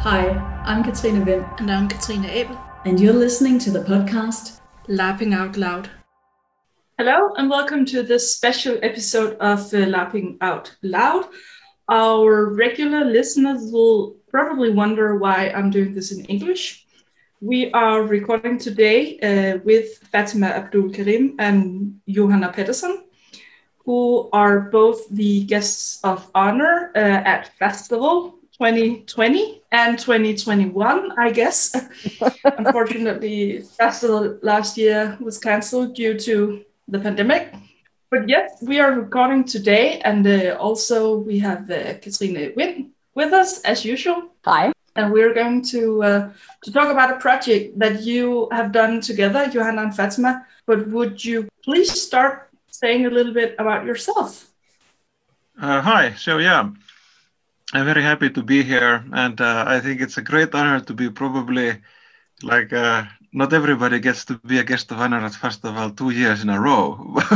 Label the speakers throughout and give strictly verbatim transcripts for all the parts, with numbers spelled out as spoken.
Speaker 1: Hi, I'm Katrine Vind.
Speaker 2: And I'm Katrine Abel.
Speaker 1: And you're listening to the podcast
Speaker 2: LARPing Out Loud.
Speaker 3: Hello and welcome to this special episode of uh, LARPing Out Loud. Our regular listeners will probably wonder why I'm doing this in English. We are recording today uh, with Fatima Abdul Karim and Johanna Pettersson, who are both the guests of honor uh, at Festival twenty twenty and twenty twenty-one, I guess. Unfortunately, Festival last year was cancelled due to the pandemic. But yes, we are recording today, and uh, also we have uh, Katrine Vind with us as usual.
Speaker 1: Hi.
Speaker 3: And we're going to uh, to talk about a project that you have done together, Johanna and Fatima. But would you please start saying a little bit about yourself?
Speaker 4: Uh, hi. So yeah, I'm very happy to be here, and uh, I think it's a great honor to be probably like. Uh, Not everybody gets to be a guest of honor at Festival two years in a row.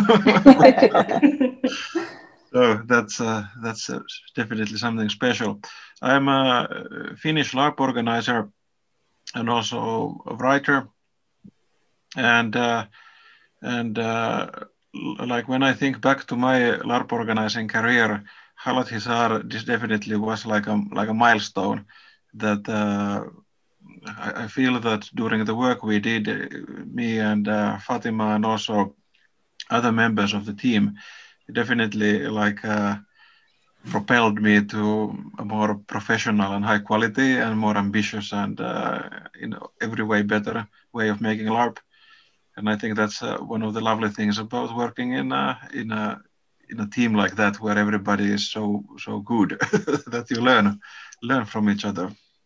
Speaker 4: So that's uh, that's uh, definitely something special. I'm a Finnish LARP organizer and also a writer. And uh, and uh, like when I think back to my LARP organizing career, Halat Hisar, this definitely was like a like a milestone that. Uh, I feel that during the work we did, me and uh, Fatima and also other members of the team, definitely like uh, propelled me to a more professional and high quality and more ambitious and uh, in every way better way of making LARP. And I think that's uh, one of the lovely things about working in a, in a in a team like that, where everybody is so so good that you learn learn from each other.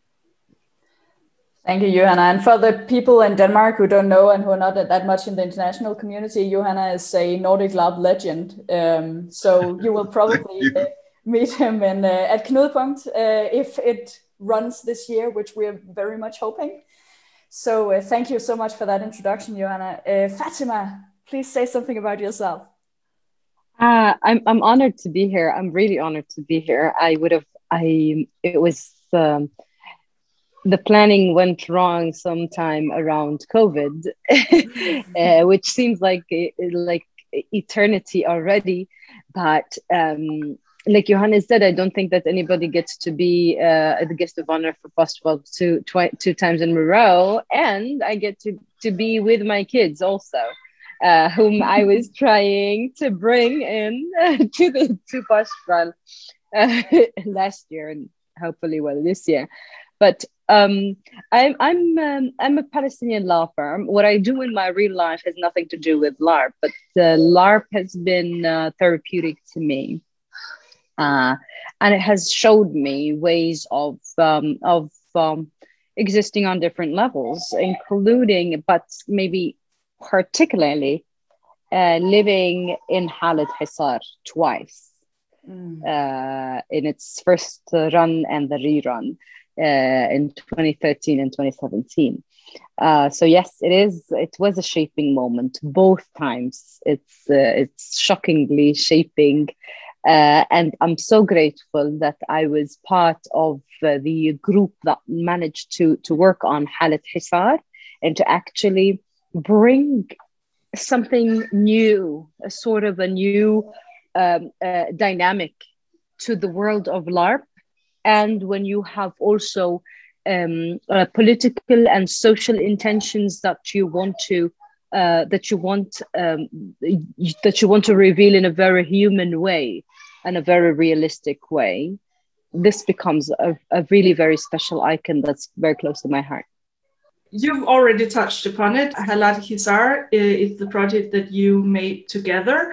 Speaker 1: Thank you, Johanna. And for the people in Denmark who don't know and who are not that much in the international community, Johanna is a Nordic LARP legend. Um, so you will probably you. Uh, meet him in, uh, at Knudepunkt uh, if it runs this year, which we're very much hoping. So uh, thank you so much for that introduction, Johanna. Uh, Fatima, please say something about yourself.
Speaker 5: Uh, I'm I'm honored to be here. I'm really honored to be here. I would have, I, it was, um, the planning went wrong sometime around COVID, uh, which seems like like eternity already. But um, like Johanna said, I don't think that anybody gets to be uh, the guest of honor for Festival two, twi- two times in a row. And I get to, to be with my kids also, uh, whom I was trying to bring in uh, to the to Festival uh, last year and hopefully well this year. But um, I'm I'm um, I'm a Palestinian law firm. What I do in my real life has nothing to do with LARP, but uh, LARP has been uh, therapeutic to me, uh, and it has showed me ways of um, of um, existing on different levels, including, but maybe particularly, uh, living in Halat Hisar twice, mm. uh, in its first run and the rerun. Uh, in twenty thirteen and twenty seventeen. Uh, so yes, it is. It was a shaping moment both times. It's uh, it's shockingly shaping, uh, and I'm so grateful that I was part of uh, the group that managed to to work on Halat Hisar and to actually bring something new, a sort of a new um, uh, dynamic to the world of LARP. And when you have also um, uh, political and social intentions that you want to uh, that you want um, that you want to reveal in a very human way and a very realistic way, this becomes a, a really very special icon that's very close to my heart.
Speaker 3: You've already touched upon it. Halat Hisar is the project that you made together.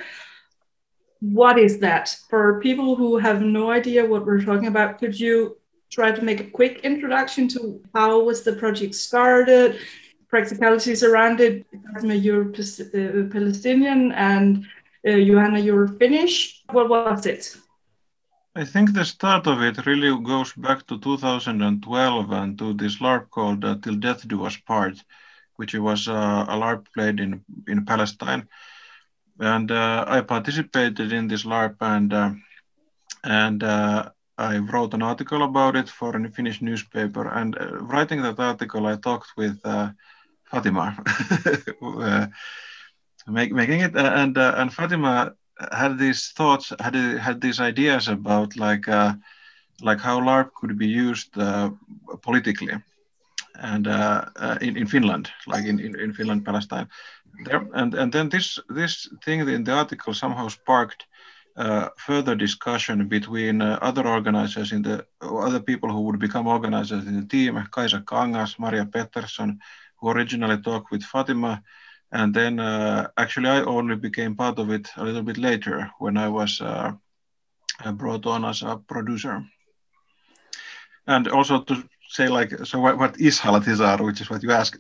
Speaker 3: What is that? For people who have no idea what we're talking about, could you try to make a quick introduction to how was the project started, practicalities around it? You're Palestinian and uh, Johanna, you're Finnish. What was it?
Speaker 4: I think the start of it really goes back to two thousand twelve and to this LARP called uh, Till Death Do Us Part, which was uh, a LARP played in, in Palestine. And uh, I participated in this LARP, and uh, and uh, I wrote an article about it for a Finnish newspaper, and uh, writing that article, I talked with uh, Fatima, uh, make, making it, uh, and uh, and Fatima had these thoughts, had had these ideas about like uh, like how LARP could be used uh, politically, and uh, uh, in in Finland, like in in, in Finland, Palestine, there, and and then this this thing in the article somehow sparked Uh, further discussion between uh, other organizers in the other people who would become organizers in the team, Kaisa Kangas, Maria Pettersson, who originally talked with Fatima, and then uh, actually I only became part of it a little bit later when I was uh, brought on as a producer. And also to say like, so what, what is Halat Hizar, which is what you asked.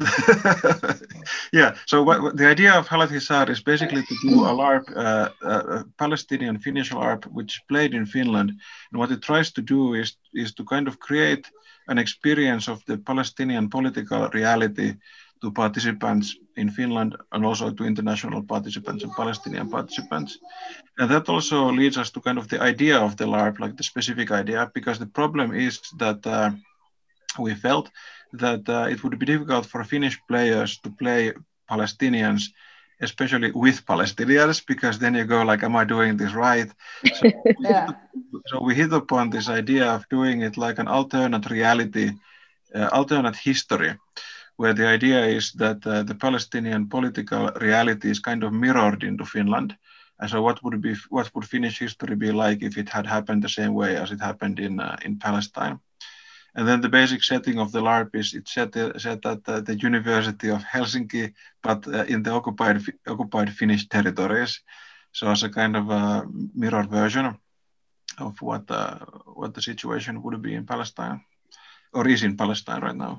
Speaker 4: Yeah, so what, what, the idea of Halat Hizar is basically to do a LARP, uh, a Palestinian Finnish LARP, which played in Finland. And what it tries to do is, is to kind of create an experience of the Palestinian political reality to participants in Finland and also to international participants and Palestinian participants. And that also leads us to kind of the idea of the LARP, like the specific idea, because the problem is that uh, we felt that uh, it would be difficult for Finnish players to play Palestinians, especially with Palestinians, because then you go like, am I doing this right? So, yeah. So we hit upon this idea of doing it like an alternate reality, uh, alternate history, where the idea is that uh, the Palestinian political reality is kind of mirrored into Finland. And so what would be what would Finnish history be like if it had happened the same way as it happened in uh, in Palestine? And then the basic setting of the LARP is it's set, uh, set at uh, the University of Helsinki, but uh, in the occupied occupied Finnish territories. So as a kind of a mirror version of what uh, what the situation would be in Palestine, or is in Palestine right now.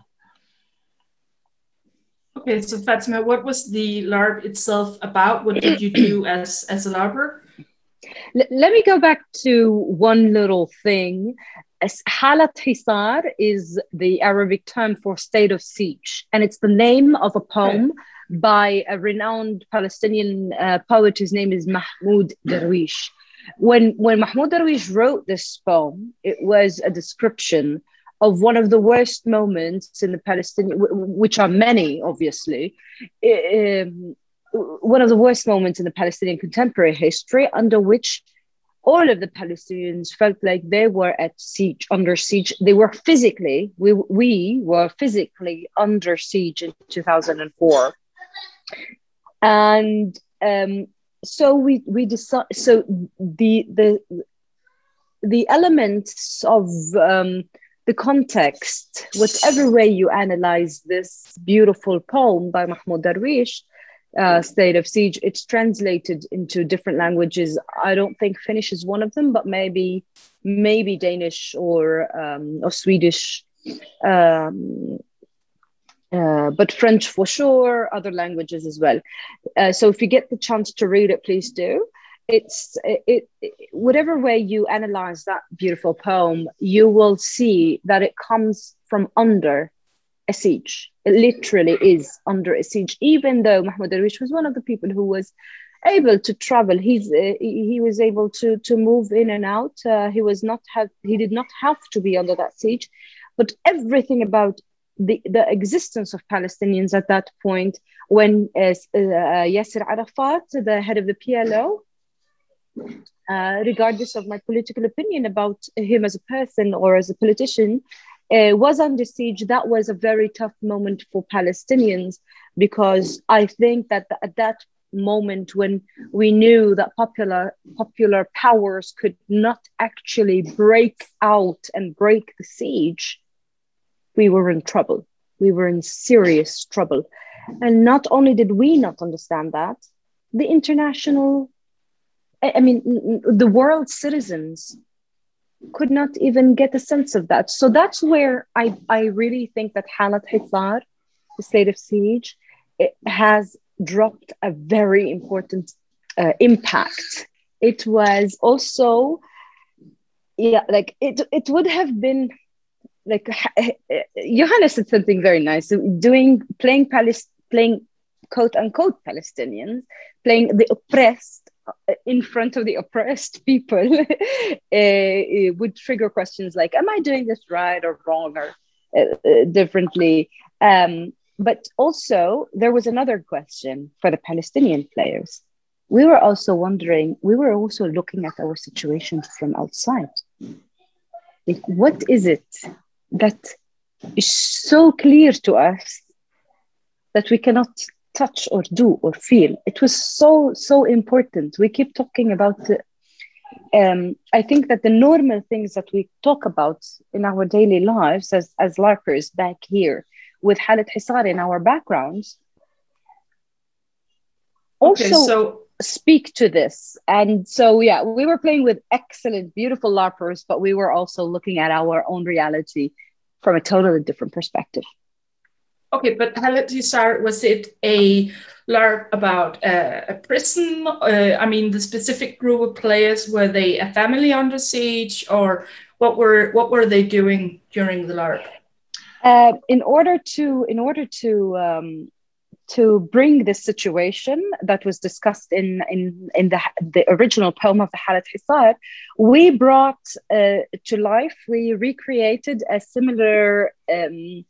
Speaker 3: Okay, so Fatima, what was the LARP itself about? What did you do as, as a LARPer?
Speaker 5: L- let me go back to one little thing. Halat Hizar is the Arabic term for state of siege, and it's the name of a poem okay. by a renowned Palestinian uh, poet whose name is Mahmoud Darwish. When, when Mahmoud Darwish wrote this poem, it was a description of one of the worst moments in the Palestinian, which are many, obviously, um, one of the worst moments in the Palestinian contemporary history, under which all of the Palestinians felt like they were at siege, under siege. They were physically, we, we were physically under siege in two thousand four. And um, so we, we decided, so the, the, the elements of um, the context, whatever way you analyze this beautiful poem by Mahmoud Darwish, uh, State of Siege, it's translated into different languages. I don't think Finnish is one of them, but maybe maybe Danish or, um, or Swedish, um, uh, but French for sure, other languages as well. Uh, so if you get the chance to read it, please do. It's it, it whatever way you analyze that beautiful poem, you will see that it comes from under a siege. It literally is under a siege, even though Mahmoud Darwish was one of the people who was able to travel. He's uh, he was able to to move in and out. Uh, he was not have he did not have to be under that siege, but everything about the the existence of Palestinians at that point, when uh, uh, Yasser Arafat, the head of the P L O, Uh, regardless of my political opinion about him as a person or as a politician, uh, was under siege, that was a very tough moment for Palestinians, because I think that th- at that moment when we knew that popular popular powers could not actually break out and break the siege, we were in trouble. We were in serious trouble. And not only did we not understand that, the international I mean, the world's citizens could not even get a sense of that. So that's where I, I really think that Halat Hizar, the state of siege, it has dropped a very important uh, impact. It was also, yeah, like it, it would have been like, Johanna said something very nice, doing, playing, Palis, playing quote unquote Palestinians, playing the oppressed in front of the oppressed people uh, would trigger questions like, am I doing this right or wrong or uh, uh, differently? Um, but also there was another question for the Palestinian players. We were also wondering, we were also looking at our situation from outside. Like, what is it that is so clear to us that we cannot touch or do or feel? It was so, so important. We keep talking about, uh, um, I think that the normal things that we talk about in our daily lives as, as LARPers back here with Halet Hisar in our backgrounds, also
Speaker 3: okay, so
Speaker 5: speak to this. And so, yeah, we were playing with excellent, beautiful LARPers, but we were also looking at our own reality from a totally different perspective.
Speaker 3: Okay, but Halet Hisar, was it a LARP about uh, a prison? Uh, I mean, the specific group of players, were they a family under siege, or what were what were they doing during the LARP?
Speaker 5: Uh, in order to, in order to, um, to bring this situation that was discussed in in, in the, the original poem of the Halet Hisar, we brought uh, to life, we recreated a similar, um,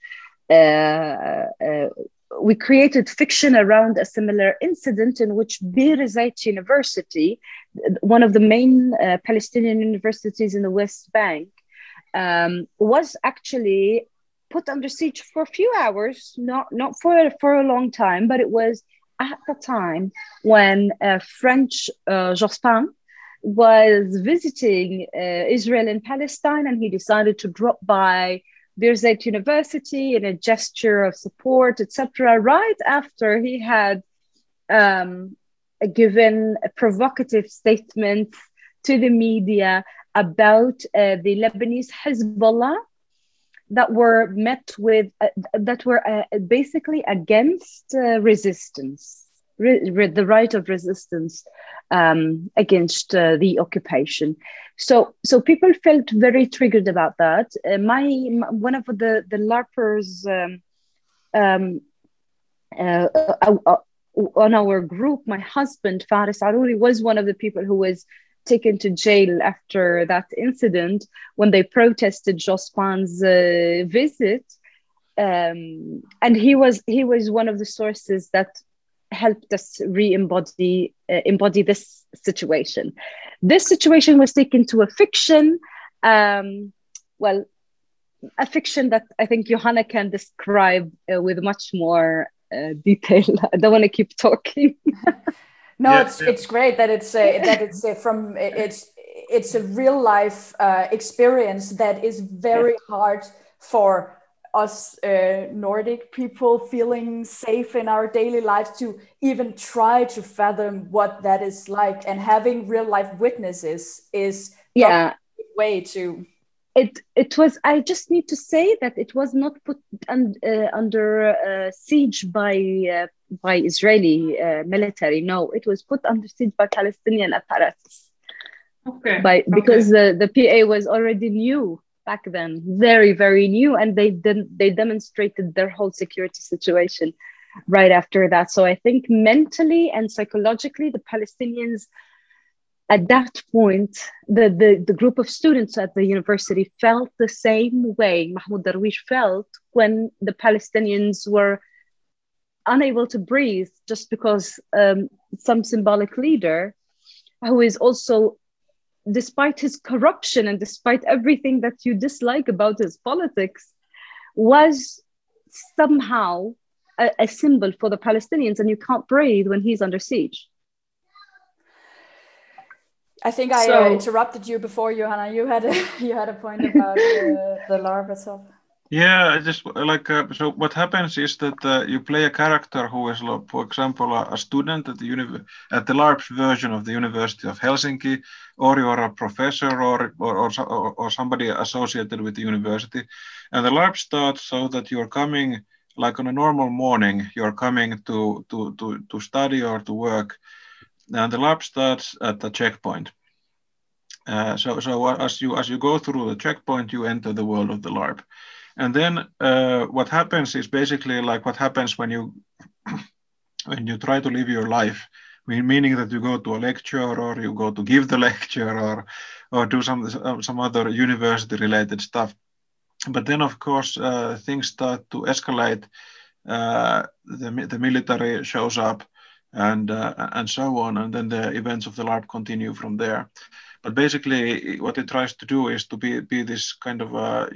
Speaker 5: uh, uh, we created fiction around a similar incident in which Bir Zayt University, one of the main uh, Palestinian universities in the West Bank, um, was actually put under siege for a few hours, not not for, for a long time, but it was at the time when uh, French uh, Jospin was visiting uh, Israel and Palestine, and he decided to drop by Bir Zayt University in a gesture of support, et cetera, right after he had um, given a provocative statement to the media about uh, the Lebanese Hezbollah that were met with, uh, that were uh, basically against uh, resistance, re- re- the right of resistance um, against uh, the occupation. So, so people felt very triggered about that. Uh, my, my one of the the LARPers um, um, uh, uh, uh, on our group, my husband Faris Arouri was one of the people who was taken to jail after that incident when they protested Jospin's uh, visit, um, and he was he was one of the sources that helped us re-embody uh, embody this situation. This situation was taken to a fiction, um, well, a fiction that I think Johanna can describe uh, with much more uh, detail. I don't want to keep talking.
Speaker 1: No,
Speaker 4: Yeah,
Speaker 1: it's
Speaker 4: yeah.
Speaker 1: it's great that it's uh, that it's uh, from it's it's a real life uh, experience that is very hard for us uh, Nordic people feeling safe in our daily lives to even try to fathom what that is like, and having real life witnesses is
Speaker 5: Yeah,
Speaker 1: a way to.
Speaker 5: it it was. I just need to say that it was not put un, uh, under uh, siege by uh, by Israeli uh, military. No, it was put under siege by Palestinian apparatus.
Speaker 3: Okay.
Speaker 5: By because
Speaker 3: okay.
Speaker 5: the, the P A was already new back then, very very new, and they didn't they demonstrated their whole security situation right after that. So I think mentally and psychologically, the Palestinians at that point, the, the, the group of students at the university felt the same way Mahmoud Darwish felt when the Palestinians were unable to breathe just because um, some symbolic leader who is also, despite his corruption and despite everything that you dislike about his politics, was somehow a, a symbol for the Palestinians, and you can't breathe when he's under siege.
Speaker 1: I think I
Speaker 3: So-
Speaker 1: uh, interrupted you before, Johanna. You had a you had a point about uh, the LARP itself.
Speaker 4: Yeah, I just like uh, so. What happens is that uh, you play a character who is, like, for example, a, a student at the uni- at the LARP version of the University of Helsinki, or you're a professor, or or, or or or somebody associated with the university, and the LARP starts so that you're coming like on a normal morning. You're coming to to to to study or to work, and the LARP starts at the checkpoint. Uh, so so as you as you go through the checkpoint, you enter the world of the LARP. And then uh, what happens is basically like what happens when you when you try to live your life meaning that you go to a lecture or you go to give the lecture or or do some some other university related stuff. But then, of course, uh, things start to escalate. Uh, the, the military shows up and uh, and so on, and then the events of the LARP continue from there. But basically, what it tries to do is to be, be this kind of a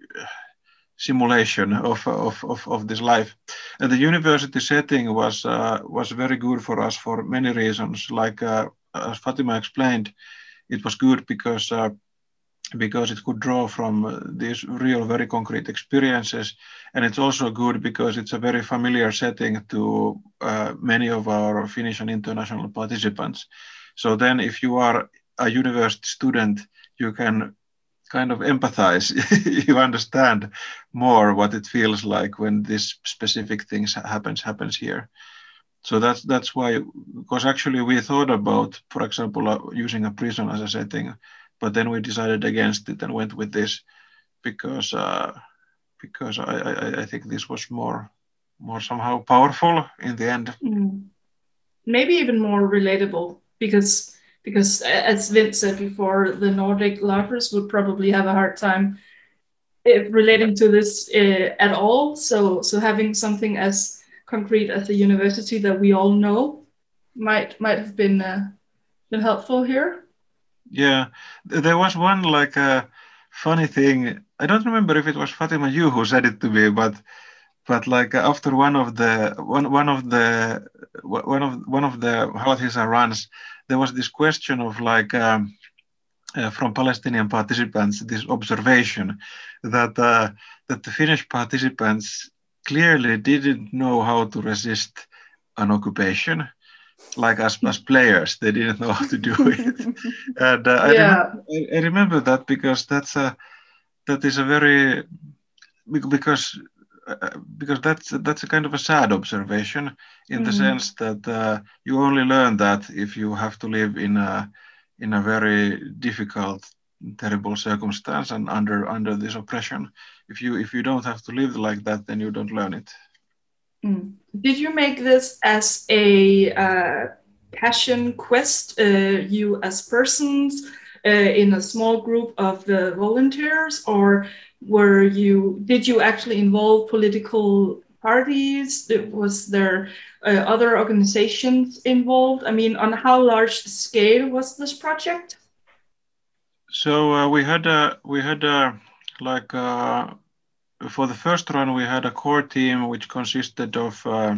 Speaker 4: simulation of, of, of, of this life. And the university setting was uh, was very good for us for many reasons. Like uh, as Fatima explained, it was good because uh, because it could draw from these real, very concrete experiences. And it's also good because it's a very familiar setting to uh, many of our Finnish and international participants. So then if you are a university student, you can kind of empathize. You understand more what it feels like when this specific things happens, happens here. So that's that's why, because actually we thought about, for example, uh, using a prison as a setting, but then we decided against it and went with this because uh, because I, I, I think this was more more somehow powerful in the end.
Speaker 3: Mm. Maybe even more relatable because because as Vince said before, the Nordic LARPers would probably have a hard time uh, relating to this uh, at all. So so having something as concrete as the university that we all know might might have been uh, been helpful here.
Speaker 4: Yeah, there was one like a uh, funny thing. I don't remember if it was Fatima you who said it to me, but but like after one of the one one of the one of one of the Halathisa runs, there was this question of like um, uh, from Palestinian participants, this observation that uh, that the Finnish participants clearly didn't know how to resist an occupation. Like as, as players, they didn't know how to do it. And uh,
Speaker 3: yeah.
Speaker 4: I, remember, I remember that because that's a that is a very because uh, because that's that's a kind of a sad observation in mm. the sense that uh, you only learn that if you have to live in a in a very difficult, terrible circumstance and under under this oppression. If you if you don't have to live like that, then you don't learn it.
Speaker 3: Mm. Did you make this as a uh, passion quest, uh, you as persons, uh, in a small group of the volunteers, or were you? Did you actually involve political parties? Was there uh, other organizations involved? I mean, on how large scale was this project?
Speaker 4: So uh, we had a we had a like. A, For the first run, we had a core team which consisted of uh,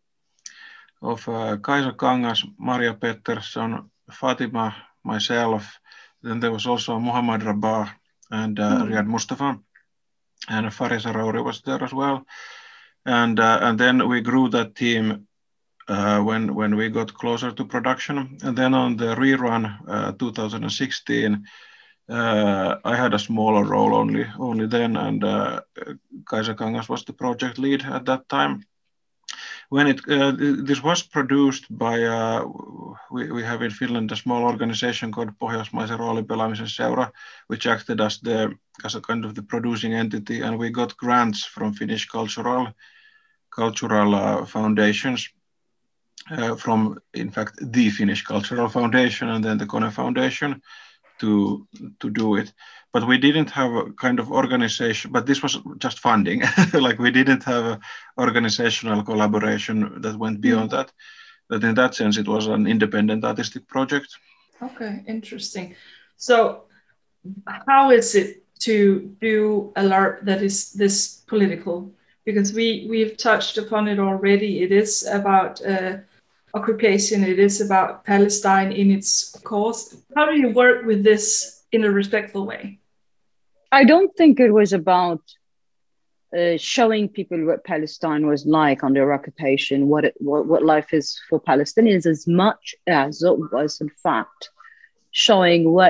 Speaker 4: of uh, Kaisa Kangas, Maria Pettersson, Fatima, myself. Then there was also Muhammad Rabah and uh, mm. Riyad Mustafa, and Farisa Rauri was there as well. And uh, and then we grew that team uh, when when we got closer to production. And then on the rerun, uh, two thousand sixteen. Uh, I had a smaller role only only then, and uh, Kaisa Kangas was the project lead at that time. When it uh, this was produced by uh, we, we have in Finland a small organization called Pohjoismaisen roolipelaamisen seura, which acted as the as a kind of the producing entity, and we got grants from Finnish cultural cultural uh, foundations. Uh, from in fact the Finnish Cultural Foundation and then the Kone Foundation to to do it, but we didn't have a kind of organization, but this was just funding. Like we didn't have a organizational collaboration that went beyond mm. that, but in that sense it was an independent artistic project.
Speaker 3: Okay, interesting. So how is it to do a LARP that is this political? Because we we've touched upon it already. It is about uh, occupation, it is about Palestine in its cause. How do you work with this in a respectful way?
Speaker 5: I don't think it was about uh, showing people what Palestine was like under occupation, what, it, what what life is for Palestinians, as much as it was in fact showing what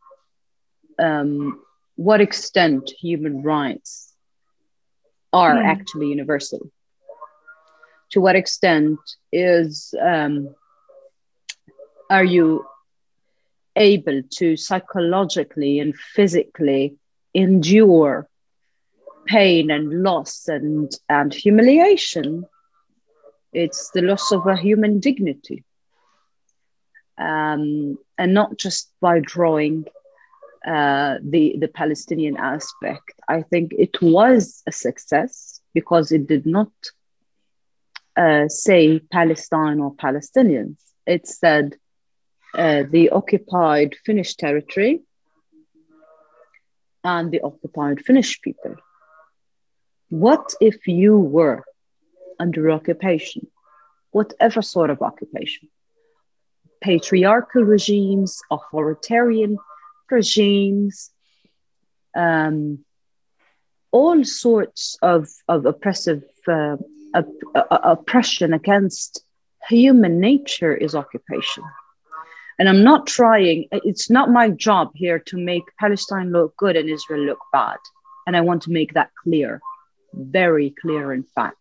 Speaker 5: um, what extent human rights are mm. actually universal. To what extent is um, are you able to psychologically and physically endure pain and loss and, and humiliation? It's the loss of a human dignity. um, and not just by drawing uh, the, the Palestinian aspect. I think it was a success because it did not uh, say Palestine or Palestinians. It said uh, the occupied Finnish territory and the occupied Finnish people. What if you were under occupation, whatever sort of occupation? Patriarchal regimes, authoritarian regimes, um, all sorts of, of oppressive uh, op- uh, oppression against human nature is occupation. And I'm not trying, it's not my job here to make Palestine look good and Israel look bad. And I want to make that clear, very clear in fact.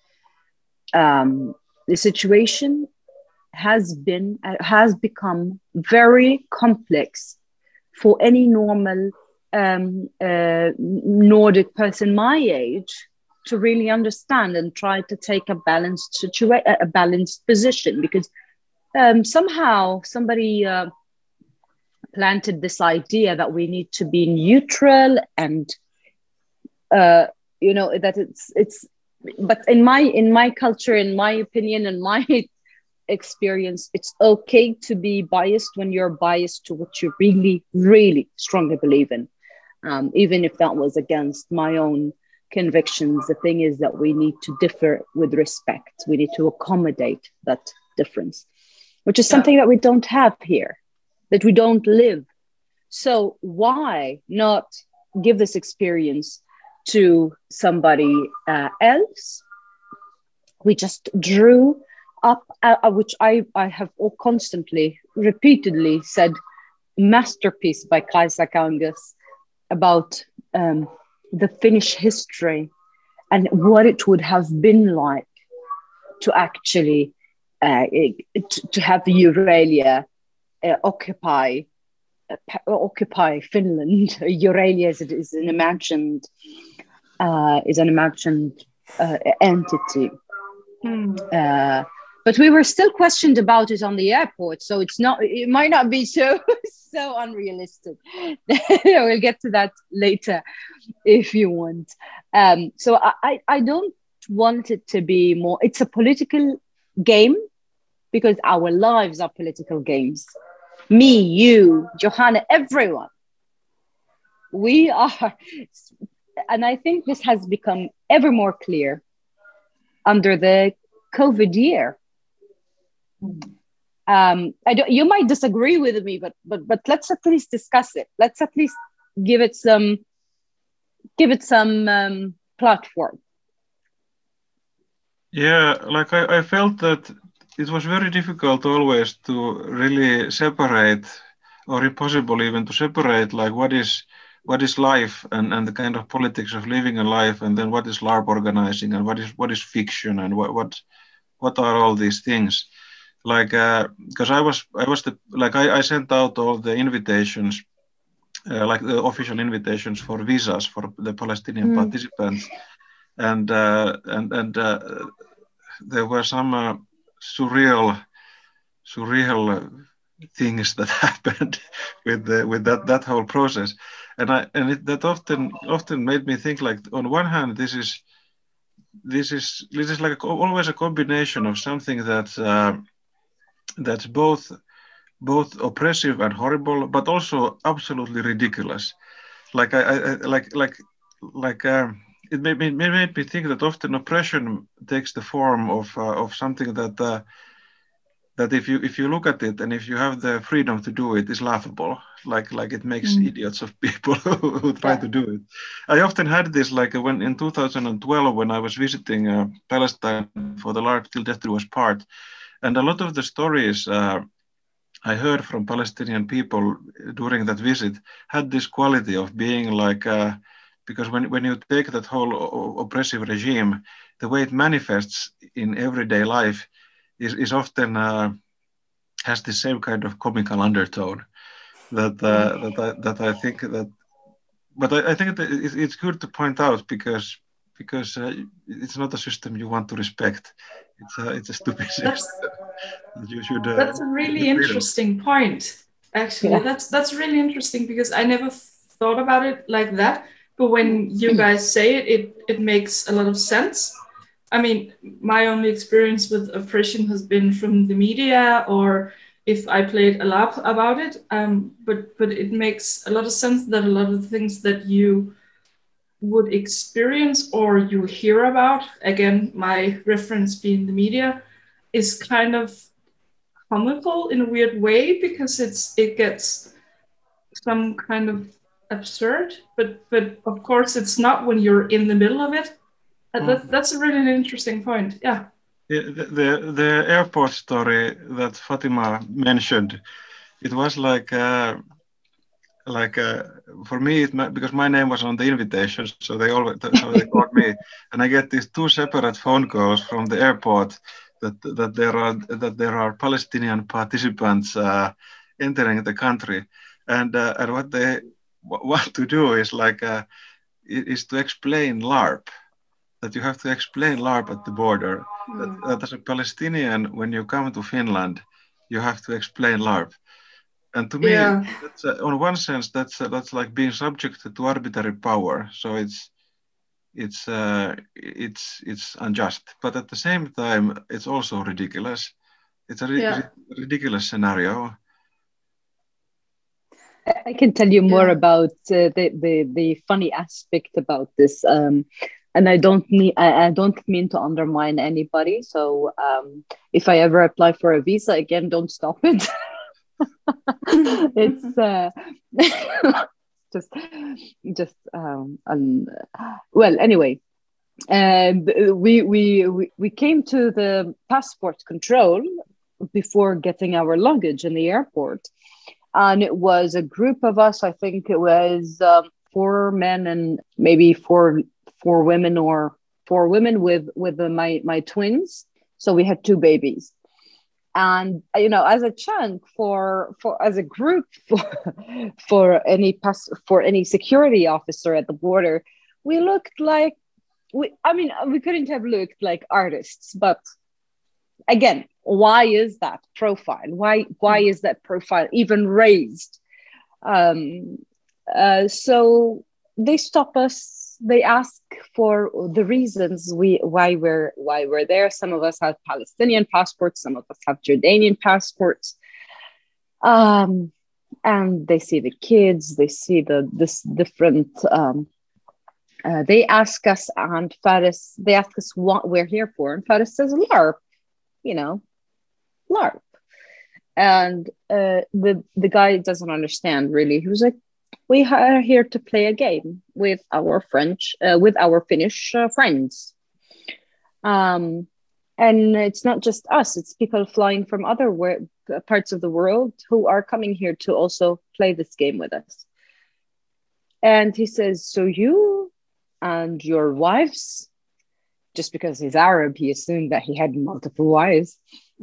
Speaker 5: Um, the situation has been, uh, has become very complex for any normal um, uh, Nordic person my age to really understand and try to take a balanced situation, a balanced position, because um, somehow somebody uh, planted this idea that we need to be neutral and uh, you know that it's it's. But in my in my culture, in my opinion, in my experience, it's okay to be biased when you're biased to what you really, really strongly believe in, um, even if that was against my own convictions. The thing is that we need to differ with respect. We need to accommodate that difference, which is something that we don't have here, that we don't live. So why not give this experience to somebody uh, else? We just drew up, uh, which I, I have all constantly, repeatedly said, masterpiece by Kaisa Kangas about um, the Finnish history and what it would have been like to actually uh, to, to have Euralia uh, occupy uh, occupy Finland. Euralia is, is an imagined uh, is an imagined uh, entity.
Speaker 3: Hmm.
Speaker 5: Uh, but we were still questioned about it on the airport, so it's not. It might not be so so unrealistic. We'll get to that later, if you want. Um, so I, I don't want it to be more. It's a political game because our lives are political games. Me, you, Johanna, everyone. We are, and I think this has become ever more clear under the COVID year. Um, I don't, you might disagree with me, but but but let's at least discuss it. Let's at least give it some give it some um, platform.
Speaker 4: Yeah, like I, I felt that it was very difficult always to really separate, or impossible even to separate, like what is what is life and, and the kind of politics of living a life, and then what is LARP organizing, and what is what is fiction, and what what what are all these things. Like, because uh, I was, I was the like I, I sent out all the invitations, uh, like the official invitations for visas for the Palestinian mm. participants, and uh, and and uh, there were some uh, surreal, surreal things that happened with the, with that that whole process, and I and it, that often often made me think, like, on one hand, this is this is this is like a, always a combination of something that. Uh, that's both both oppressive and horrible, but also absolutely ridiculous. Like I, I like like like um, it made me made me think that often oppression takes the form of uh, of something that uh, that if you if you look at it and if you have the freedom to do it, is laughable. Like like it makes mm. idiots of people who try yeah. to do it. I often had this, like when in two thousand twelve when I was visiting uh, Palestine for the LARP Till Death Do Us Part. And a lot of the stories uh, I heard from Palestinian people during that visit had this quality of being like, uh, because when, when you take that whole o- oppressive regime, the way it manifests in everyday life is, is often uh, has the same kind of comical undertone that uh, that, I, that I think that, but I, I think that it's good to point out because because uh, it's not a system you want to respect. It's a, it's a stupid system.
Speaker 3: That's,
Speaker 4: You should. Uh,
Speaker 3: that's a really interesting point. Actually, yeah. that's that's really interesting because I never thought about it like that. But when you guys say it, it it makes a lot of sense. I mean, my only experience with oppression has been from the media, or if I played a LARP about it. Um, but but it makes a lot of sense that a lot of the things that you would experience or you hear about, again, my reference being the media, is kind of comical in a weird way because it's it gets some kind of absurd. But but of course, it's not when you're in the middle of it. That, that's a really interesting point. Yeah.
Speaker 4: Yeah, the, the the airport story that Fatima mentioned, it was like uh, like uh, for me it, because my name was on the invitation, so they always so they called me, and I get these two separate phone calls from the airport that that there are that there are Palestinian participants uh, entering the country, and uh, and what they want to do is like uh, is to explain LARP. That you have to explain LARP at the border. Mm. That, that as a Palestinian, when you come to Finland, you have to explain LARP. And to me, yeah. that's, uh, on one sense, that's uh, that's like being subject to arbitrary power. So it's it's uh, it's it's unjust. But at the same time, it's also ridiculous. It's a ri yeah. ridiculous scenario.
Speaker 5: I can tell you more yeah. about uh, the, the the funny aspect about this. Um, And I don't mean I, I don't mean to undermine anybody. So um, if I ever apply for a visa again, don't stop it. It's uh, just just um, um, well. Anyway, uh, we we we we came to the passport control before getting our luggage in the airport, and it was a group of us. I think it was um, four men and maybe four. four women or four women with with the, my my twins, so we had two babies, and you know, as a chunk for for as a group for for any pass for any security officer at the border, we looked like we I mean we couldn't have looked like artists. But again, why is that profile why why is that profile even raised? Um uh so they stop us. They ask for the reasons we why we're why we're there. Some of us have Palestinian passports, some of us have Jordanian passports. Um, and they see the kids, they see the this different. Um, uh, they ask us, and Faris, they ask us what we're here for, and Faris says LARP, you know, LARP, and uh, the the guy doesn't understand really. He was like, we are here to play a game with our French, uh, with our Finnish uh, friends. Um, and it's not just us, it's people flying from other wor- parts of the world who are coming here to also play this game with us. And he says, so you and your wives, just because he's Arab, he assumed that he had multiple wives,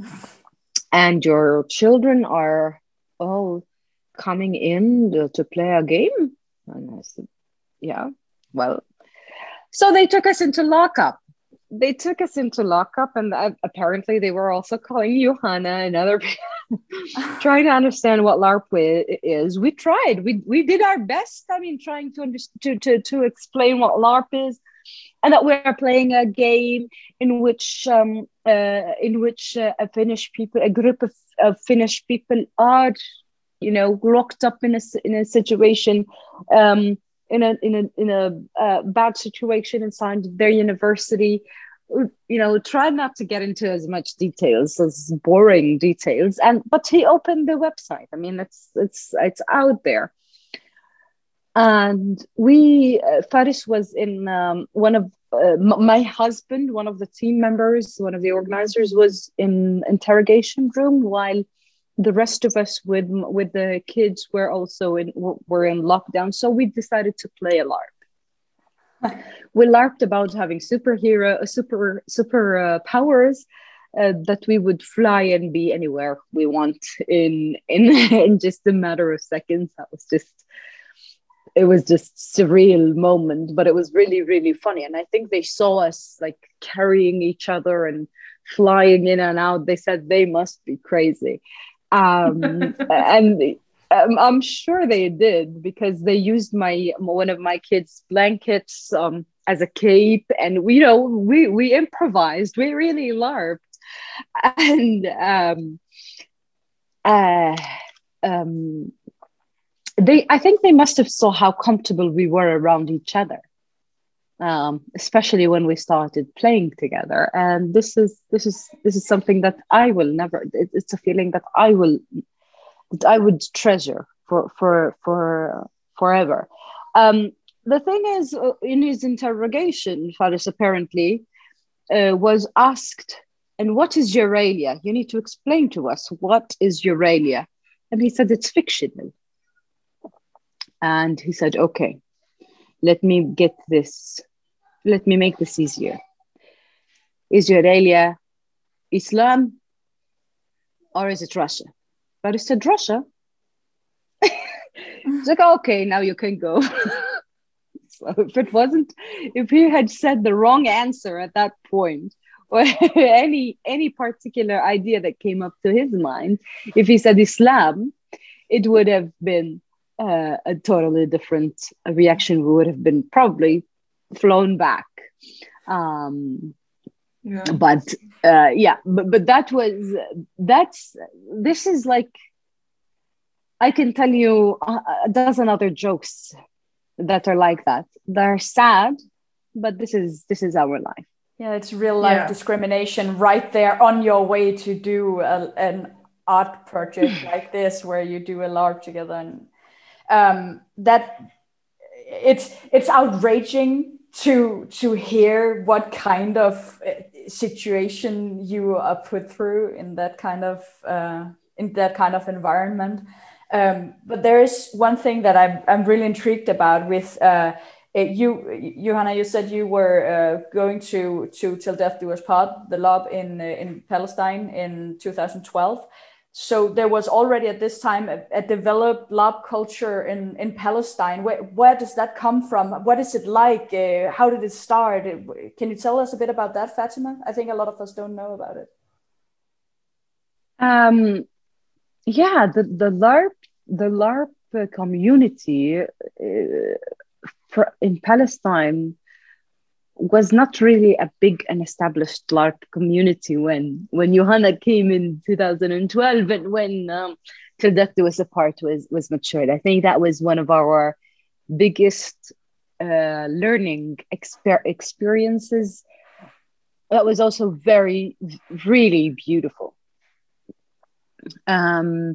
Speaker 5: and your children are all coming in to, to play a game? And I said, yeah, well. So they took us into lockup. They took us into lockup, and uh, apparently they were also calling Johanna and other people, trying to understand what LARP is. We tried. We we did our best. I mean, trying to, under- to, to, to explain what LARP is, and that we're playing a game in which um, uh, in which uh, a Finnish people, a group of, of Finnish people are, you know, locked up in a in a situation, um, in a in a in a uh, bad situation inside their university. You know, try not to get into as much details, as boring details. And but he opened the website. I mean, it's it's it's out there. And we, uh, Faris was in um, one of uh, m- my husband, one of the team members, one of the organizers, was in interrogation room while the rest of us with with the kids were also in were in lockdown. So we decided to play a LARP. We LARPed about having superhero, super super uh, powers, uh, that we would fly and be anywhere we want in in in just a matter of seconds. That was just it was just surreal moment, but it was really really funny. And I think they saw us like carrying each other and flying in and out. They said they must be crazy. Um, and um, I'm sure they did, because they used my one of my kids' blankets um, as a cape. And, you know, we, we improvised. We really LARPed. And um, uh, um, they, I think they must have saw how comfortable we were around each other. Um, especially when we started playing together, and this is this is this is something that I will never. It, it's a feeling that I will that I would treasure for for for forever. Um, the thing is, uh, in his interrogation, Faris apparently uh, was asked, "And what is Euralia? You need to explain to us, what is Euralia?" And he said, "It's fictional." And he said, "Okay, let me get this." Let me make this easier. Is Euralia Islam, or is it Russia? But he said Russia. It's like, okay, now you can go. So if it wasn't, if he had said the wrong answer at that point, or any any particular idea that came up to his mind, if he said Islam, it would have been uh, a totally different reaction. We would have been probably flown back. Um, yeah. But uh, yeah, but, but that was, that's, this is like, I can tell you a, a dozen other jokes that are like that. They're sad, but this is, this is our life.
Speaker 1: Yeah, it's real life yeah. discrimination right there on your way to do a, an art project like this, where you do a LARP together. And um, that, it's, it's outraging to to hear what kind of situation you are put through in that kind of uh, in that kind of environment. Um, but there is one thing that I'm I'm really intrigued about with uh, you, Johanna. You said you were uh, going to to Till Death Do Us Part, the LARP in uh, in Palestine in two thousand twelve. So there was already at this time a, a developed LARP culture in, in Palestine. Where, where does that come from? What is it like? Uh, how did it start? Can you tell us a bit about that, Fatima? I think a lot of us don't know about it.
Speaker 5: Um, yeah, the, the LARP, the LARP community uh, for, in Palestine was not really a big and established LARP community when when Johanna came in two thousand twelve, and when um, Till Death Do Us Part was was matured. I think that was one of our biggest uh, learning exper- experiences. That was also very, really beautiful. Um,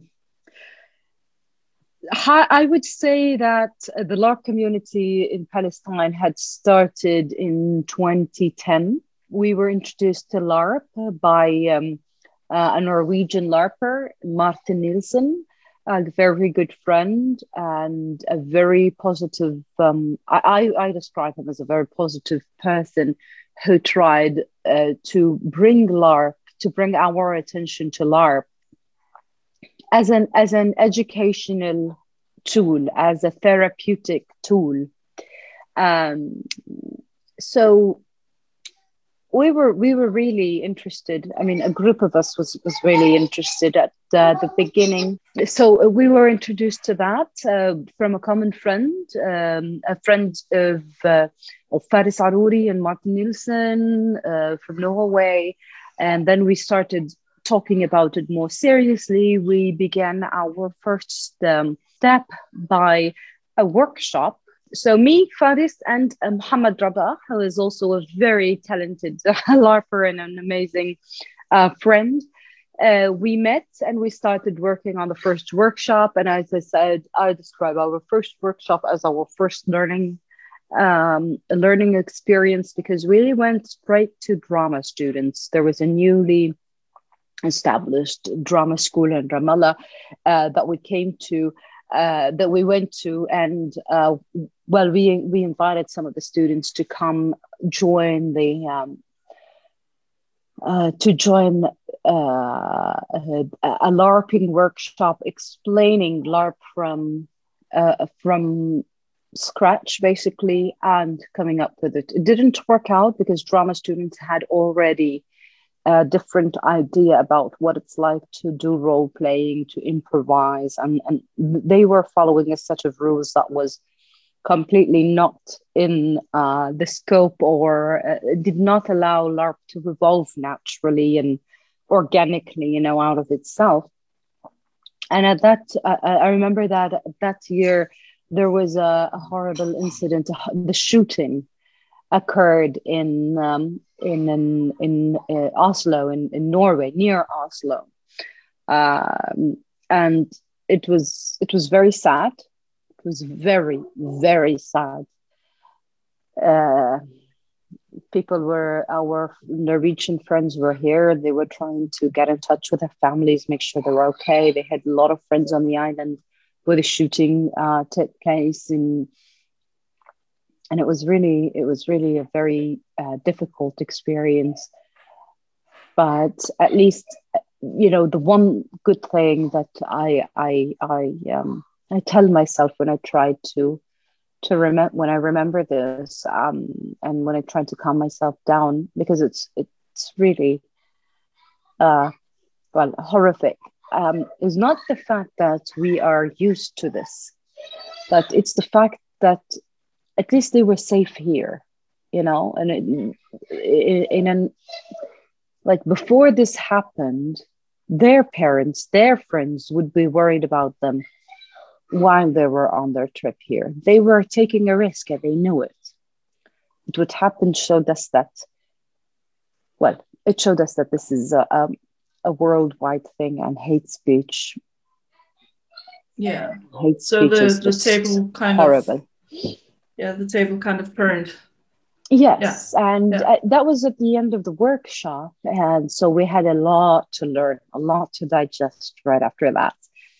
Speaker 5: I would say that the LARP community in Palestine had started in twenty ten. We were introduced to LARP by um, uh, a Norwegian LARPer, Martin Nielsen, a very good friend and a very positive, um, I, I describe him as a very positive person who tried uh, to bring LARP, to bring our attention to LARP as an as an educational tool, as a therapeutic tool. Um, so we were we were really interested. I mean, a group of us was was really interested at uh, the beginning. So we were introduced to that uh, from a common friend, um, a friend of uh, of Faris Arouri and Martin Nielsen uh, from Norway, and then we started talking about it more seriously. We began our first um, step by a workshop. So me, Faris, and uh, Mohammed Rabah, who is also a very talented uh, LARPer and an amazing uh, friend, uh, we met and we started working on the first workshop. And as I said, I describe our first workshop as our first learning um, learning experience, because we went straight to drama students. There was a newly established drama school in Ramallah uh, that we came to, uh, that we went to, and uh, well, we we invited some of the students to come join the um, uh, to join uh, a, a LARPing workshop, explaining LARP from uh, from scratch, basically, and coming up with it. It didn't work out because drama students had already a different idea about what it's like to do role playing, to improvise, and and they were following a set of rules that was completely not in uh, the scope, or uh, did not allow LARP to evolve naturally and organically, you know, out of itself. And at that, uh, I remember that that year there was a, a horrible incident. The shooting occurred in um, in in, in uh, Oslo, in, in Norway, near Oslo, um, and it was it was very sad. It was very very sad. Uh, people were our Norwegian friends were here. They were trying to get in touch with their families, make sure they were okay. They had a lot of friends on the island where the shooting uh, took place, and and it was really it was really a very uh, difficult experience. But at least, you know, the one good thing that I I I um I tell myself when I try to. to remember when I remember this, um, and when I try to calm myself down, because it's it's really uh, well horrific, um, is not the fact that we are used to this, but it's the fact that at least they were safe here, you know, and it, in, in an like before this happened, their parents, their friends would be worried about them while they were on their trip here. They were taking a risk and they knew it. But what happened showed us that, well, it showed us that this is a, a, a worldwide thing, and hate speech.
Speaker 3: Yeah.
Speaker 5: Hate
Speaker 3: so
Speaker 5: speech
Speaker 3: the,
Speaker 5: is
Speaker 3: the
Speaker 5: just
Speaker 3: table kind
Speaker 5: horrible.
Speaker 3: of, yeah, the table kind of burned.
Speaker 5: Yes, yeah. and
Speaker 3: yeah.
Speaker 5: Uh, that was at the end of the workshop. And so we had a lot to learn, a lot to digest right after that.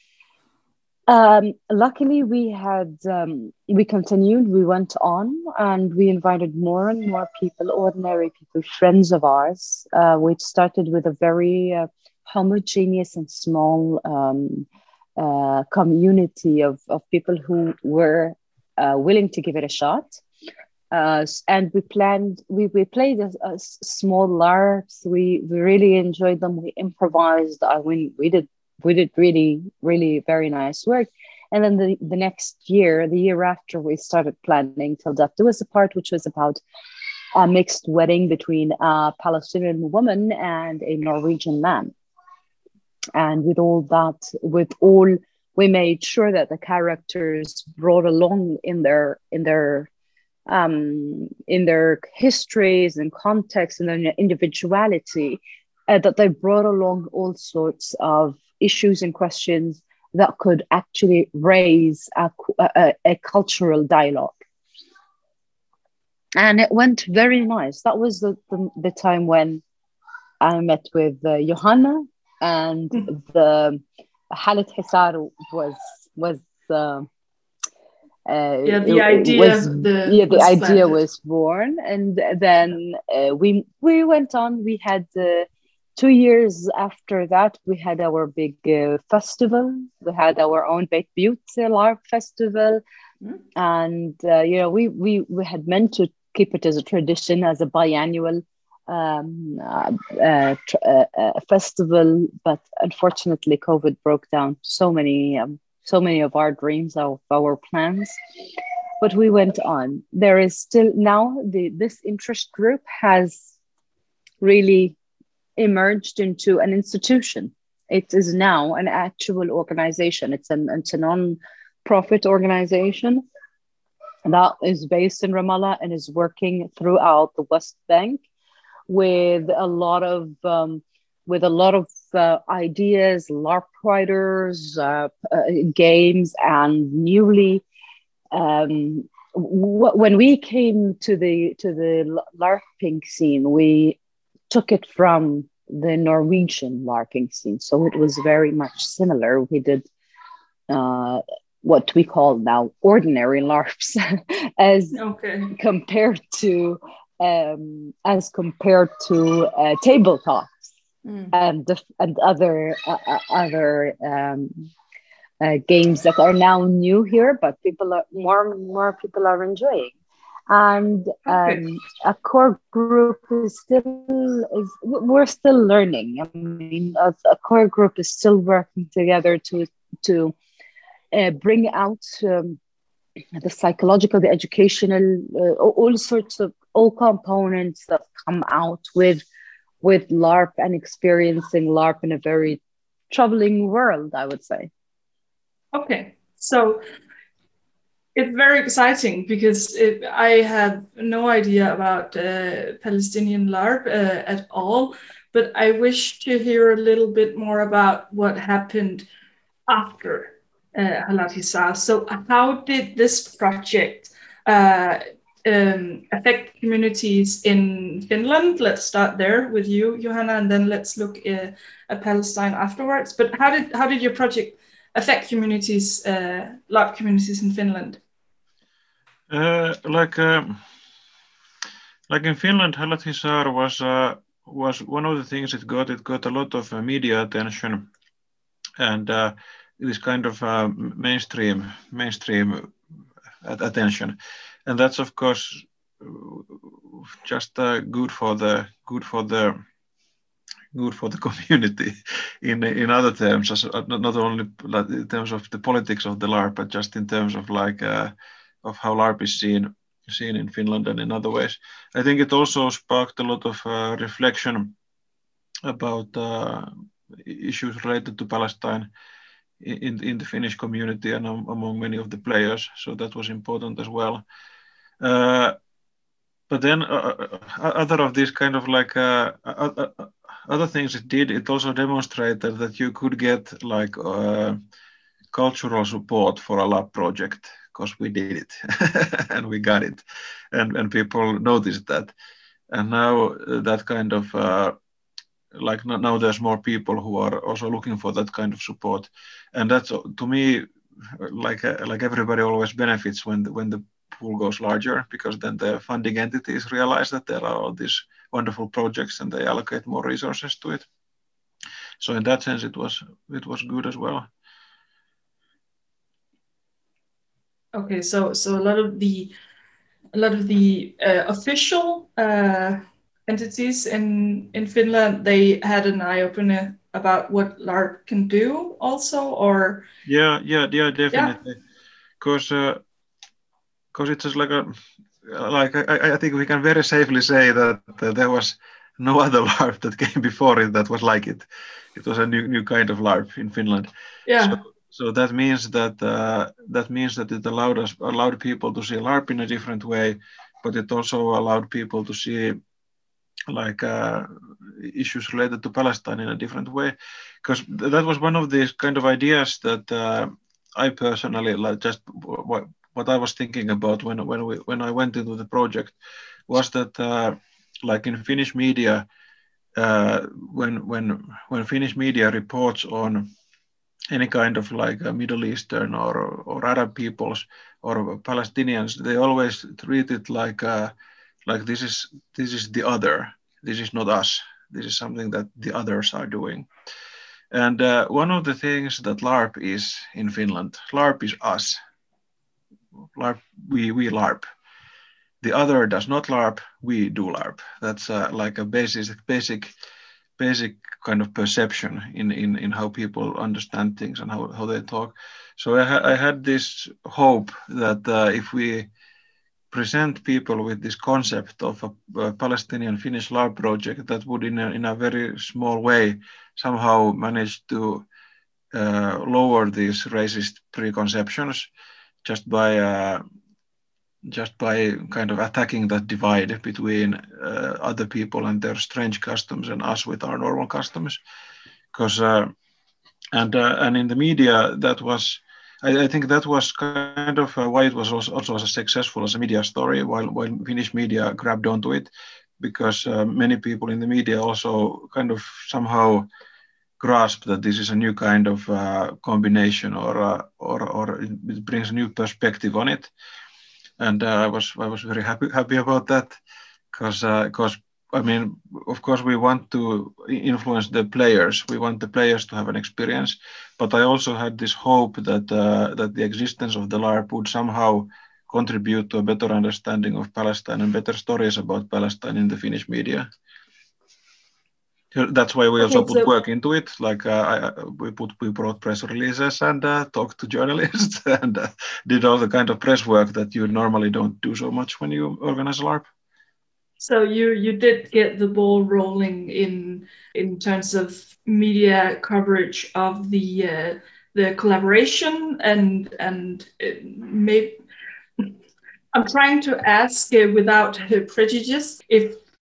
Speaker 5: Um, luckily, we had um, we continued. We went on, and we invited more and more people, ordinary people, friends of ours. Uh, we started with a very uh, homogeneous and small um, uh, community of of people who were uh, willing to give it a shot. Uh, and we planned. We we played a, a small LARPs. We we really enjoyed them. We improvised. I mean, we did. We did really, really very nice work. And then the, the next year, the year after, we started planning Till Death Do Us Apart, which was about a mixed wedding between a Palestinian woman and a Norwegian man. And with all that, with all, we made sure that the characters brought along in their, in their, um, in their histories and context and their individuality, uh, that they brought along all sorts of issues and questions that could actually raise a, a, a cultural dialogue. And it went very nice. That was the, the, the time when I met with uh, Johanna, and mm-hmm. the Halit Hisar was, was uh, uh,
Speaker 3: yeah, the idea,
Speaker 5: was,
Speaker 3: the,
Speaker 5: yeah, the
Speaker 3: was
Speaker 5: idea
Speaker 3: planted.
Speaker 5: was born. And then uh, we, we went on, we had uh, Two years after that, we had our big uh, festival. We had our own Beit Butte LARP festival. Mm. And, uh, you know, we, we, we had meant to keep it as a tradition, as a biannual um, uh, uh, tr- uh, uh, festival. But unfortunately, COVID broke down so many, um, so many of our dreams, of our plans. But we went on. There is still now, the this interest group has really emerged into an institution. It is now an actual organization. It's an it's a non-profit organization that is based in Ramallah and is working throughout the West Bank with a lot of um, with a lot of uh, ideas, LARP writers, uh, uh, games, and newly. Um, w- when we came to the to the LARPing scene, we took it from the Norwegian LARPing scene. So it was very much similar. We did uh, what we call now ordinary LARPs as okay. compared to um, as compared to uh, tabletops mm. and and other uh, other um, uh, games that are now new here, but people are more and more people are enjoying. and
Speaker 3: Okay.
Speaker 5: um, a core group is still is we're still learning. I mean, a, a core group is still working together to to uh, bring out um, the psychological, the educational, uh, all sorts of all components that come out with with LARP and experiencing LARP in a very troubling world, I would say.
Speaker 3: Okay, so it's very exciting because it, I have no idea about uh, Palestinian LARP uh, at all, but I wish to hear a little bit more about what happened after uh, Halat Hissar. So how did this project uh, um, affect communities in Finland? Let's start there with you, Johanna, and then let's look uh, at Palestine afterwards. But how did how did your project affect communities, uh, LARP communities in Finland?
Speaker 4: Uh, like uh, like in Finland, Halat Hissar was uh, was one of the things it got. It got a lot of uh, media attention, and uh, this kind of uh, mainstream mainstream attention, and that's of course just uh, good for the good for the good for the community in in other terms, as not only in terms of the politics of the LARP, but just in terms of like uh, of how LARP is seen seen in Finland and in other ways. I think it also sparked a lot of uh, reflection about uh, issues related to Palestine in in the Finnish community and among many of the players. So that was important as well. Uh, but then uh, other of these kind of like uh, uh, other things it did, it also demonstrated that you could get like uh, cultural support for a LARP project, because we did it and we got it, and and people noticed that, and now that kind of uh, like now there's more people who are also looking for that kind of support, and that's to me like uh, like everybody always benefits when the, when the pool goes larger, because then the funding entities realize that there are all these wonderful projects and they allocate more resources to it. So in that sense, it was it was good as well.
Speaker 3: Okay, so so a lot of the a lot of the uh, official uh, entities in in Finland, they had an eye opener about what LARP can do, also, or
Speaker 4: yeah, yeah, yeah, definitely, because because uh, it's just like a like I, I think we can very safely say that uh, there was no other LARP that came before it that was like it. It was a new new kind of LARP in Finland.
Speaker 3: Yeah.
Speaker 4: So, So that means that uh, that means that it allowed us allowed people to see LARP in a different way, but it also allowed people to see like uh, issues related to Palestine in a different way, because th- that was one of these kind of ideas that uh, I personally like just what, what I was thinking about when when we when I went into the project was that uh, like in Finnish media uh, when when when Finnish media reports on any kind of like uh, Middle Eastern or or Arab peoples or Palestinians, they always treat it like uh, like this is this is the other. This is not us. This is something that the others are doing. And uh, one of the things that LARP is in Finland, LARP is us. LARP, we we LARP. The other does not LARP. We do LARP. That's uh, like a basic basic. basic kind of perception in, in, in how people understand things and how, how they talk. So I, ha- I had this hope that uh, if we present people with this concept of a, a Palestinian Finnish LARP project, that would in a, in a very small way somehow manage to uh, lower these racist preconceptions just by uh, just by kind of attacking that divide between uh, other people and their strange customs and us with our normal customs. Because uh, and uh, and in the media, that was I, I think that was kind of uh, why it was also, also as successful as a media story, while while Finnish media grabbed onto it, because uh, many people in the media also kind of somehow grasp that this is a new kind of uh, combination, or uh, or or it brings a new perspective on it. And uh, I was I was very happy happy about that, because because uh, I mean, of course we want to influence the players. We want the players to have an experience, but I also had this hope that uh, that the existence of the LARP would somehow contribute to a better understanding of Palestine and better stories about Palestine in the Finnish media. That's why we also okay, put so work into it. Like uh, I, we put, we brought press releases and uh, talked to journalists and uh, did all the kind of press work that you normally don't do so much when you organize a LARP.
Speaker 3: So you you did get the ball rolling in in terms of media coverage of the uh, the collaboration and and it may. I'm trying to ask uh, without uh, prejudice if.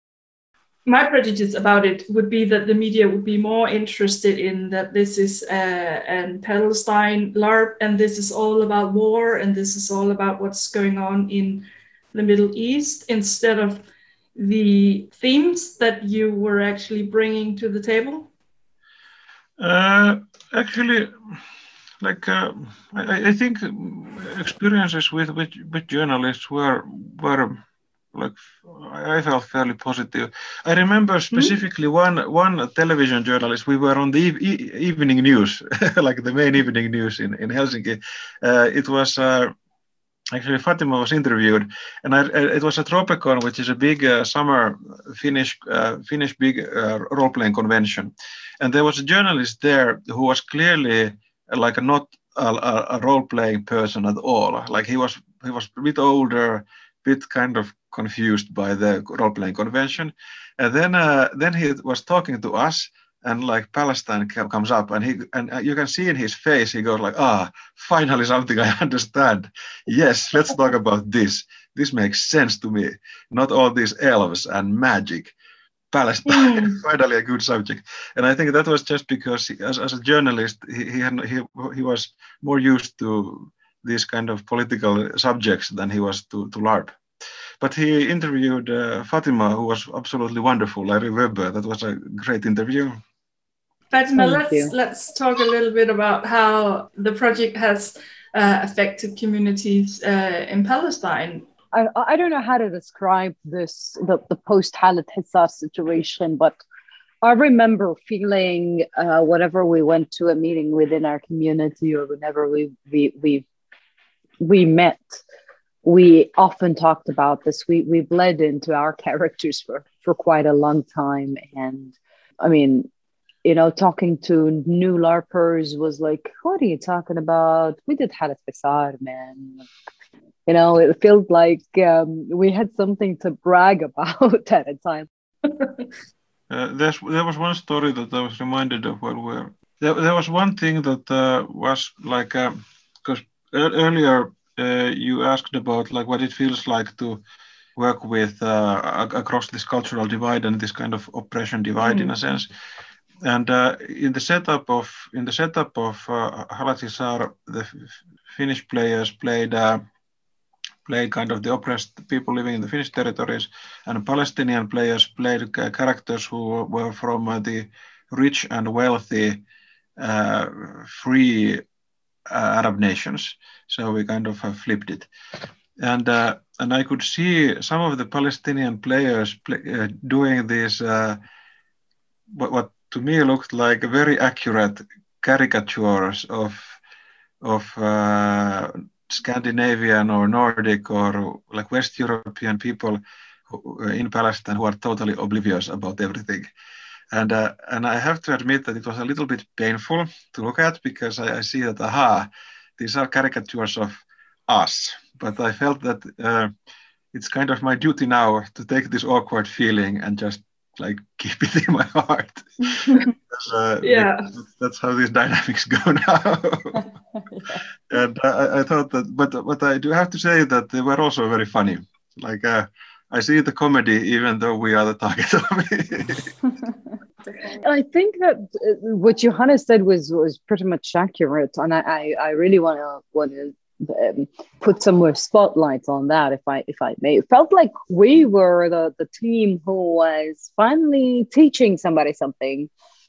Speaker 3: My prejudice about it would be that the media would be more interested in that this is uh, an Palestine LARP and this is all about war and this is all about what's going on in the Middle East instead of the themes that you were actually bringing to the table?
Speaker 4: Uh, actually, like uh, I, I think experiences with, with, with journalists were were. Like I felt fairly positive. I remember specifically mm-hmm. one one television journalist. We were on the e- e- evening news, like the main evening news in in Helsinki. Uh, it was uh, actually Fatima was interviewed, and I, it was at Tropicon, which is a big uh, summer Finnish uh, Finnish big uh, role playing convention, and there was a journalist there who was clearly like a not a, a role playing person at all. Like he was he was a bit older, bit kind of confused by the role-playing convention, and then uh, then he was talking to us, and like Palestine comes up, and he and you can see in his face he goes like, ah, finally something I understand. Yes, let's talk about this. This makes sense to me. Not all these elves and magic. Palestine, mm. finally a good subject. And I think that was just because he, as, as a journalist, he he, had, he he was more used to these kind of political subjects than he was to, to LARP. But he interviewed uh, Fatima, who was absolutely wonderful. I remember that was a great interview.
Speaker 3: Fatima, Thank let's you. let's talk a little bit about how the project has uh, affected communities uh, in Palestine.
Speaker 5: I, I don't know how to describe this, the, the post-Khaled Hissar situation, but I remember feeling uh, whenever we went to a meeting within our community or whenever we we we, we met, we often talked about this. We we bled into our characters for, for quite a long time. And I mean, you know, talking to new LARPers was like, what are you talking about? We did Khaled Hissar, man. You know, it felt like um, we had something to brag about at a time.
Speaker 4: uh, there's, there was one story that I was reminded of when we were... There, there was one thing that uh, was like... Because uh, earlier uh, you asked about like what it feels like to work with uh, across this cultural divide and this kind of oppression divide mm. in a sense. And uh, in the setup of in the setup of uh, Khaled Hissar, the f- Finnish players played... Uh, played kind of the oppressed people living in the Finnish territories, and Palestinian players played uh, characters who were from uh, the rich and wealthy, uh, free uh, Arab nations. So we kind of uh, flipped it. And uh, and I could see some of the Palestinian players play, uh, doing these, uh, what, what to me looked like very accurate caricatures of, of uh, Scandinavian or Nordic or like West European people who, in Palestine who are totally oblivious about everything. And uh, and I have to admit that it was a little bit painful to look at because I, I see that, aha, these are caricatures of us. But I felt that uh, it's kind of my duty now to take this awkward feeling and just like keep it in my heart. uh,
Speaker 3: yeah,
Speaker 4: that's how these dynamics go now. yeah. And uh, I, I thought that, but but I do have to say that they were also very funny. Like uh, I see the comedy, even though we are the target of it.
Speaker 5: I think that what Johanna said was was pretty much accurate, and I I, I really want to want to. Um, put some more spotlights on that, if I if I may. It felt like we were the, the team who was finally teaching somebody something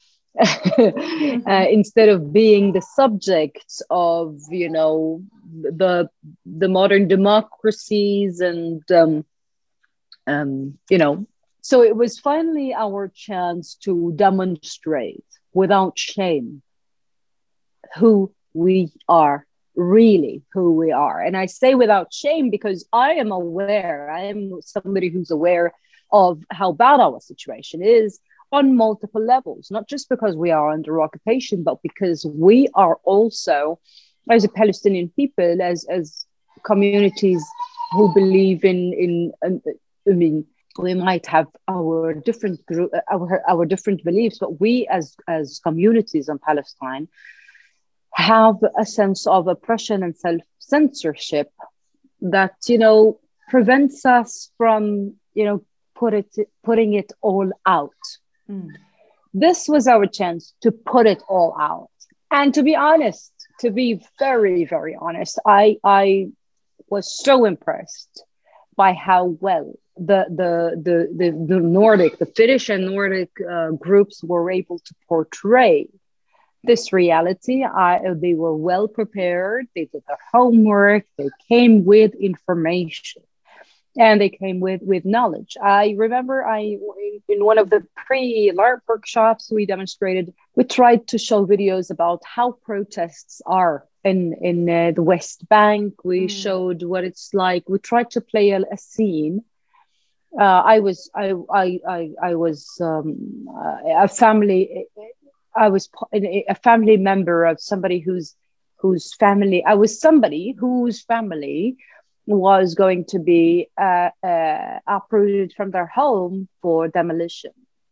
Speaker 5: uh, instead of being the subject of, you know, the the modern democracies and um, um, you know. So it was finally our chance to demonstrate without shame who we are really who we are. And I say without shame, because I am aware, I am somebody who's aware of how bad our situation is on multiple levels, not just because we are under occupation, but because we are also, as a Palestinian people, as as communities who believe in in, in I mean, we might have our different group, our our different beliefs, but we as as communities in Palestine have a sense of oppression and self-censorship that, you know, prevents us from, you know, put it putting it all out. Mm. This was our chance to put it all out. And to be honest, to be very, very honest, I I was so impressed by how well the the the the, the Nordic, the Finnish and Nordic uh, groups were able to portray this reality. I, they were well prepared. They did their homework. They came with information, and they came with with knowledge. I remember, I in one of the pre-LARP workshops we demonstrated, we tried to show videos about how protests are in in uh, the West Bank. We mm. showed what it's like. We tried to play a, a scene. Uh, I was I I I, I was um, uh, a family. I was a family member of somebody whose whose family. I was somebody whose family was going to be uh, uh, uprooted from their home for demolition,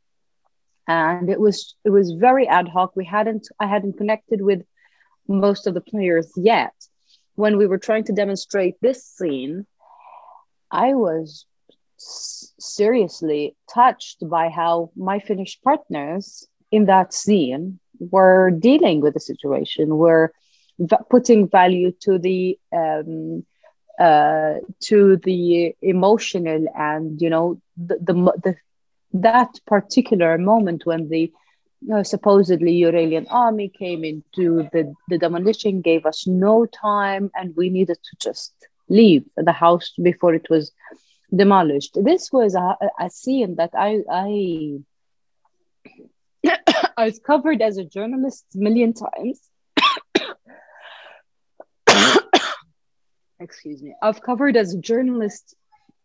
Speaker 5: and it was it was very ad hoc. We hadn't I hadn't connected with most of the players yet. When we were trying to demonstrate this scene, I was s- seriously touched by how my Finnish partners in that scene were dealing with the situation, were v- putting value to the um, uh, to the emotional and, you know, the, the, the that particular moment when the uh, supposedly Uralian army came into the, the demolition, gave us no time, and we needed to just leave the house before it was demolished. This was a, a scene that I I I've covered as a journalist a million times. Excuse me. I've covered as a journalist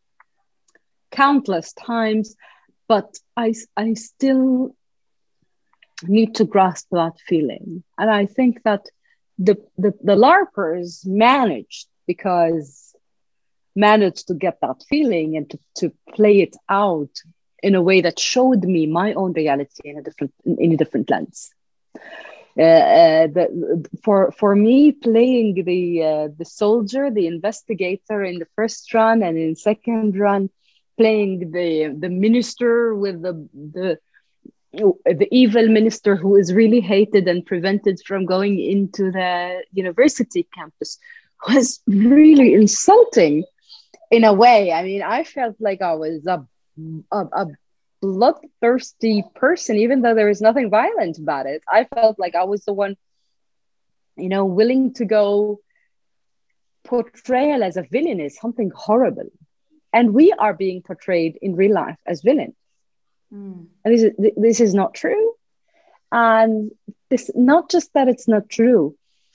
Speaker 5: countless times, but I, I still need to grasp that feeling. And I think that the, the, the LARPers managed, because managed to get that feeling and to, to play it out in a way that showed me my own reality in a different in a different lens. Uh, uh, the, for for me, playing the uh, the soldier, the investigator in the first run, and in second run, playing the the minister with the the the evil minister who is really hated and prevented from going into the university campus, was really insulting in a way. I mean, I felt like I was a A, a bloodthirsty person, even though there was nothing violent about it. I felt like I was the one, you know, willing to go portrayal as a villain is something horrible. And we are being portrayed in real life as villains. Mm. And this is, this is not true. And this, not just that it's not true.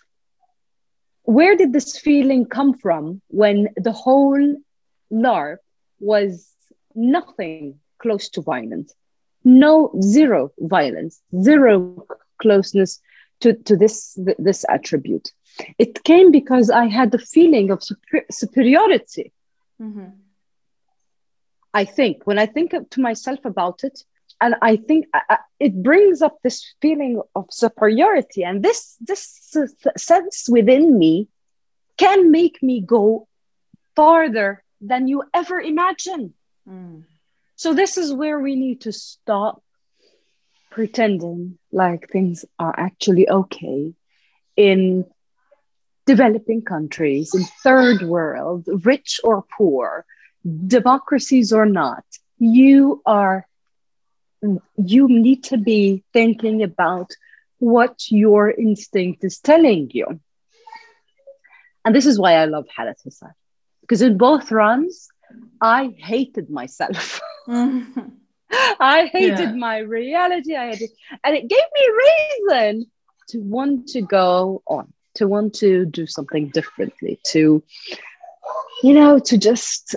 Speaker 5: Where did this feeling come from when the whole LARP was nothing close to violence, no, zero violence, zero closeness to, to this, this attribute? It came because I had the feeling of super, superiority. Mm-hmm. I think, when I think to myself about it, and I think I, it brings up this feeling of superiority, and this, this sense within me can make me go farther than you ever imagine. Mm. So this is where we need to stop pretending like things are actually okay in developing countries, in third world, rich or poor, democracies or not. You are, you need to be thinking about what your instinct is telling you. And this is why I love Halat Hussein, because in both runs, I hated myself. Mm-hmm. I hated yeah. my reality. I hated, and it gave me reason to want to go on. to want to do something differently, to, you know, to just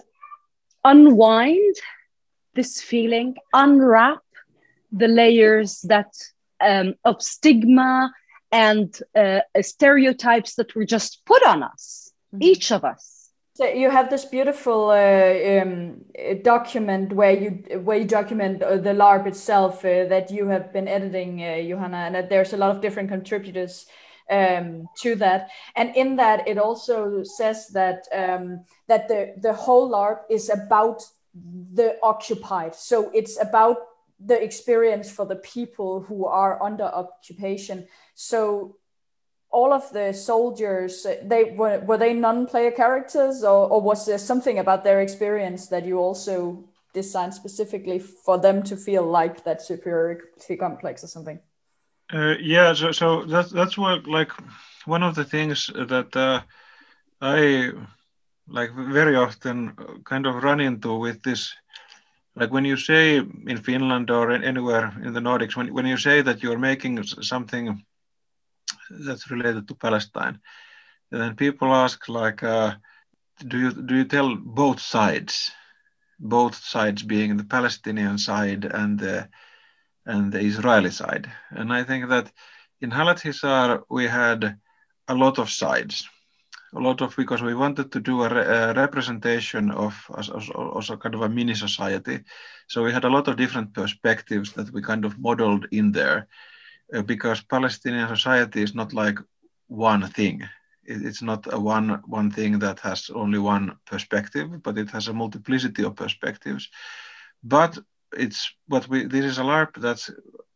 Speaker 5: unwind this feeling, unwrap the layers that um, of stigma and uh, stereotypes that were just put on us, mm-hmm. each of us.
Speaker 1: So you have this beautiful uh, um, document where you where you document uh, the LARP itself uh, that you have been editing, uh, Johanna, and that there's a lot of different contributors um, to that. And in that, it also says that um, that the the whole LARP is about the occupied. So it's about the experience for the people who are under occupation. So all of the soldiers, they were were they non-player characters, or, or was there something about their experience that you also designed specifically for them to feel like that superiority complex or something?
Speaker 4: Uh, yeah, so so that's that's what like one of the things that uh, I like very often kind of run into with this. Like when you say in Finland or anywhere in the Nordics, when when you say that you're making something that's related to Palestine, and then people ask like, uh, do you do you tell both sides, both sides being the Palestinian side and the and the Israeli side? And I think that in Halat Hizar we had a lot of sides, a lot of because we wanted to do a, re, a representation of also kind of a mini society, so we had a lot of different perspectives that we kind of modeled in there. Because Palestinian society is not like one thing. It's not a one one thing that has only one perspective, but it has a multiplicity of perspectives. But it's but we this is a LARP that's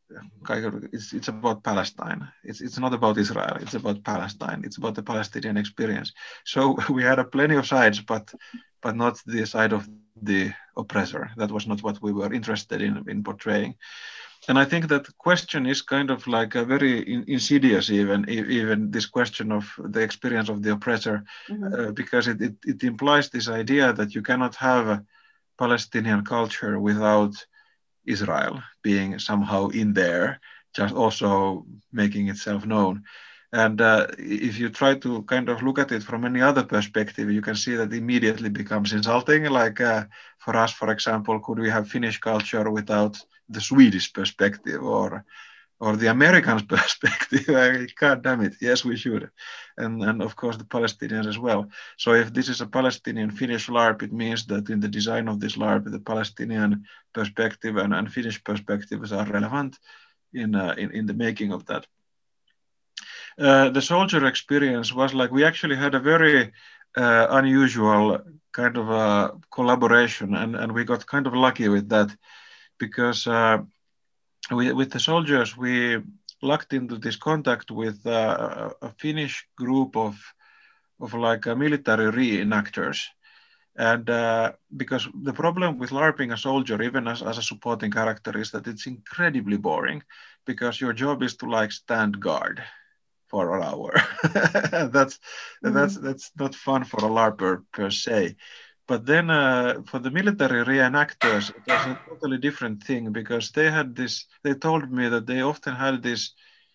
Speaker 4: it's it's about Palestine. It's it's not about Israel. It's about Palestine. It's about the Palestinian experience. So we had a plenty of sides, but but not the side of the oppressor. That was not what we were interested in in portraying. And I think that question is kind of like a very in, insidious, even even this question of the experience of the oppressor, mm-hmm. uh, because it, it, it implies this idea that you cannot have a Palestinian culture without Israel being somehow in there, just also making itself known. And uh, if you try to kind of look at it from any other perspective, you can see that it immediately becomes insulting. Like uh, for us, for example, could we have Finnish culture without the Swedish perspective or or the Americans' perspective? God damn it, yes, we should. And, and of course the Palestinians as well. So if this is a Palestinian-Finnish LARP, it means that in the design of this LARP, the Palestinian perspective and, and Finnish perspectives are relevant in, uh, in, in the making of that. Uh, the soldier experience was like, we actually had a very uh, unusual kind of a collaboration, and, and we got kind of lucky with that, because uh, we, with the soldiers, we lucked into this contact with uh, a Finnish group of, of like uh, military reenactors. And uh, because the problem with LARPing a soldier, even as, as a supporting character, is that it's incredibly boring, because your job is to like stand guard for an hour. that's mm-hmm. that's that's not fun for a LARPer per se. But then uh, for the military reenactors, it was a totally different thing, because they had this. They told me that they often had this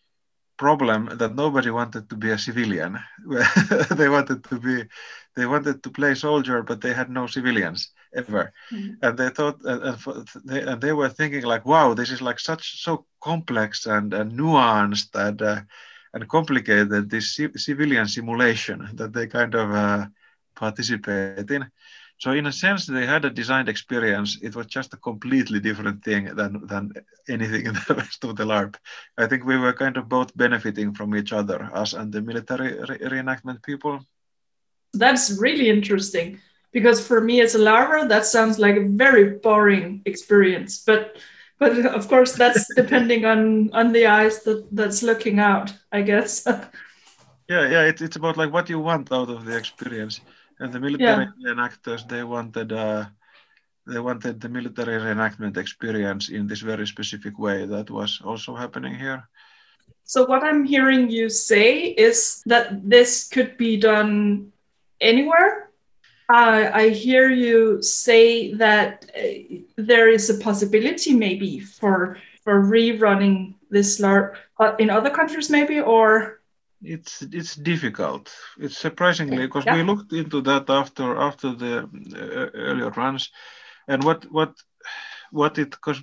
Speaker 4: problem that nobody wanted to be a civilian. they wanted to be, they wanted to play soldier, but they had no civilians ever. Mm-hmm. And they thought, and, for, they, and they were thinking like, wow, this is like such so complex and, and nuanced and. Uh, and complicated, this civilian simulation that they kind of uh, participate in. So in a sense, they had a designed experience. It was just a completely different thing than, than anything in the rest of the LARP. I think we were kind of both benefiting from each other, us and the military re reenactment people.
Speaker 3: That's really interesting, because for me as a LARPer, that sounds like a very boring experience. But But of course, that's depending on, on the eyes that, that's looking out, I guess.
Speaker 4: yeah, yeah, it's it's about like what you want out of the experience. And the military yeah. reenactors, they wanted uh, they wanted the military reenactment experience in this very specific way. That was also happening here.
Speaker 3: So what I'm hearing you say is that this could be done anywhere. Uh, I hear you say that uh, there is a possibility maybe for for rerunning this LARP uh, in other countries maybe, or?
Speaker 4: it's it's difficult. It's surprisingly because
Speaker 3: Yeah.
Speaker 4: we looked into that after after the uh, earlier runs, and what what what it because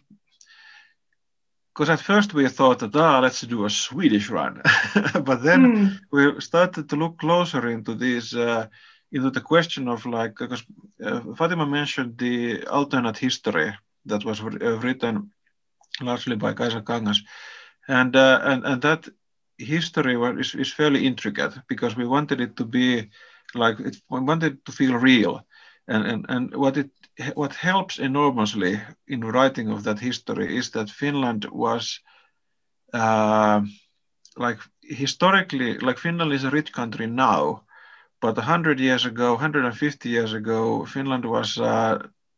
Speaker 4: because at first we thought that ah let's do a Swedish run, but then
Speaker 3: Mm.
Speaker 4: we started to look closer into these uh, into the question of like because uh, Fatima mentioned the alternate history that was uh, written largely by Kaisa Kangas, and uh, and and that history was, is, is fairly intricate because we wanted it to be like it, we wanted it to feel real, and and and what it what helps enormously in writing of that history is that Finland was uh, like historically like Finland is a rich country now, but a hundred years ago, one hundred fifty years ago, Finland was uh,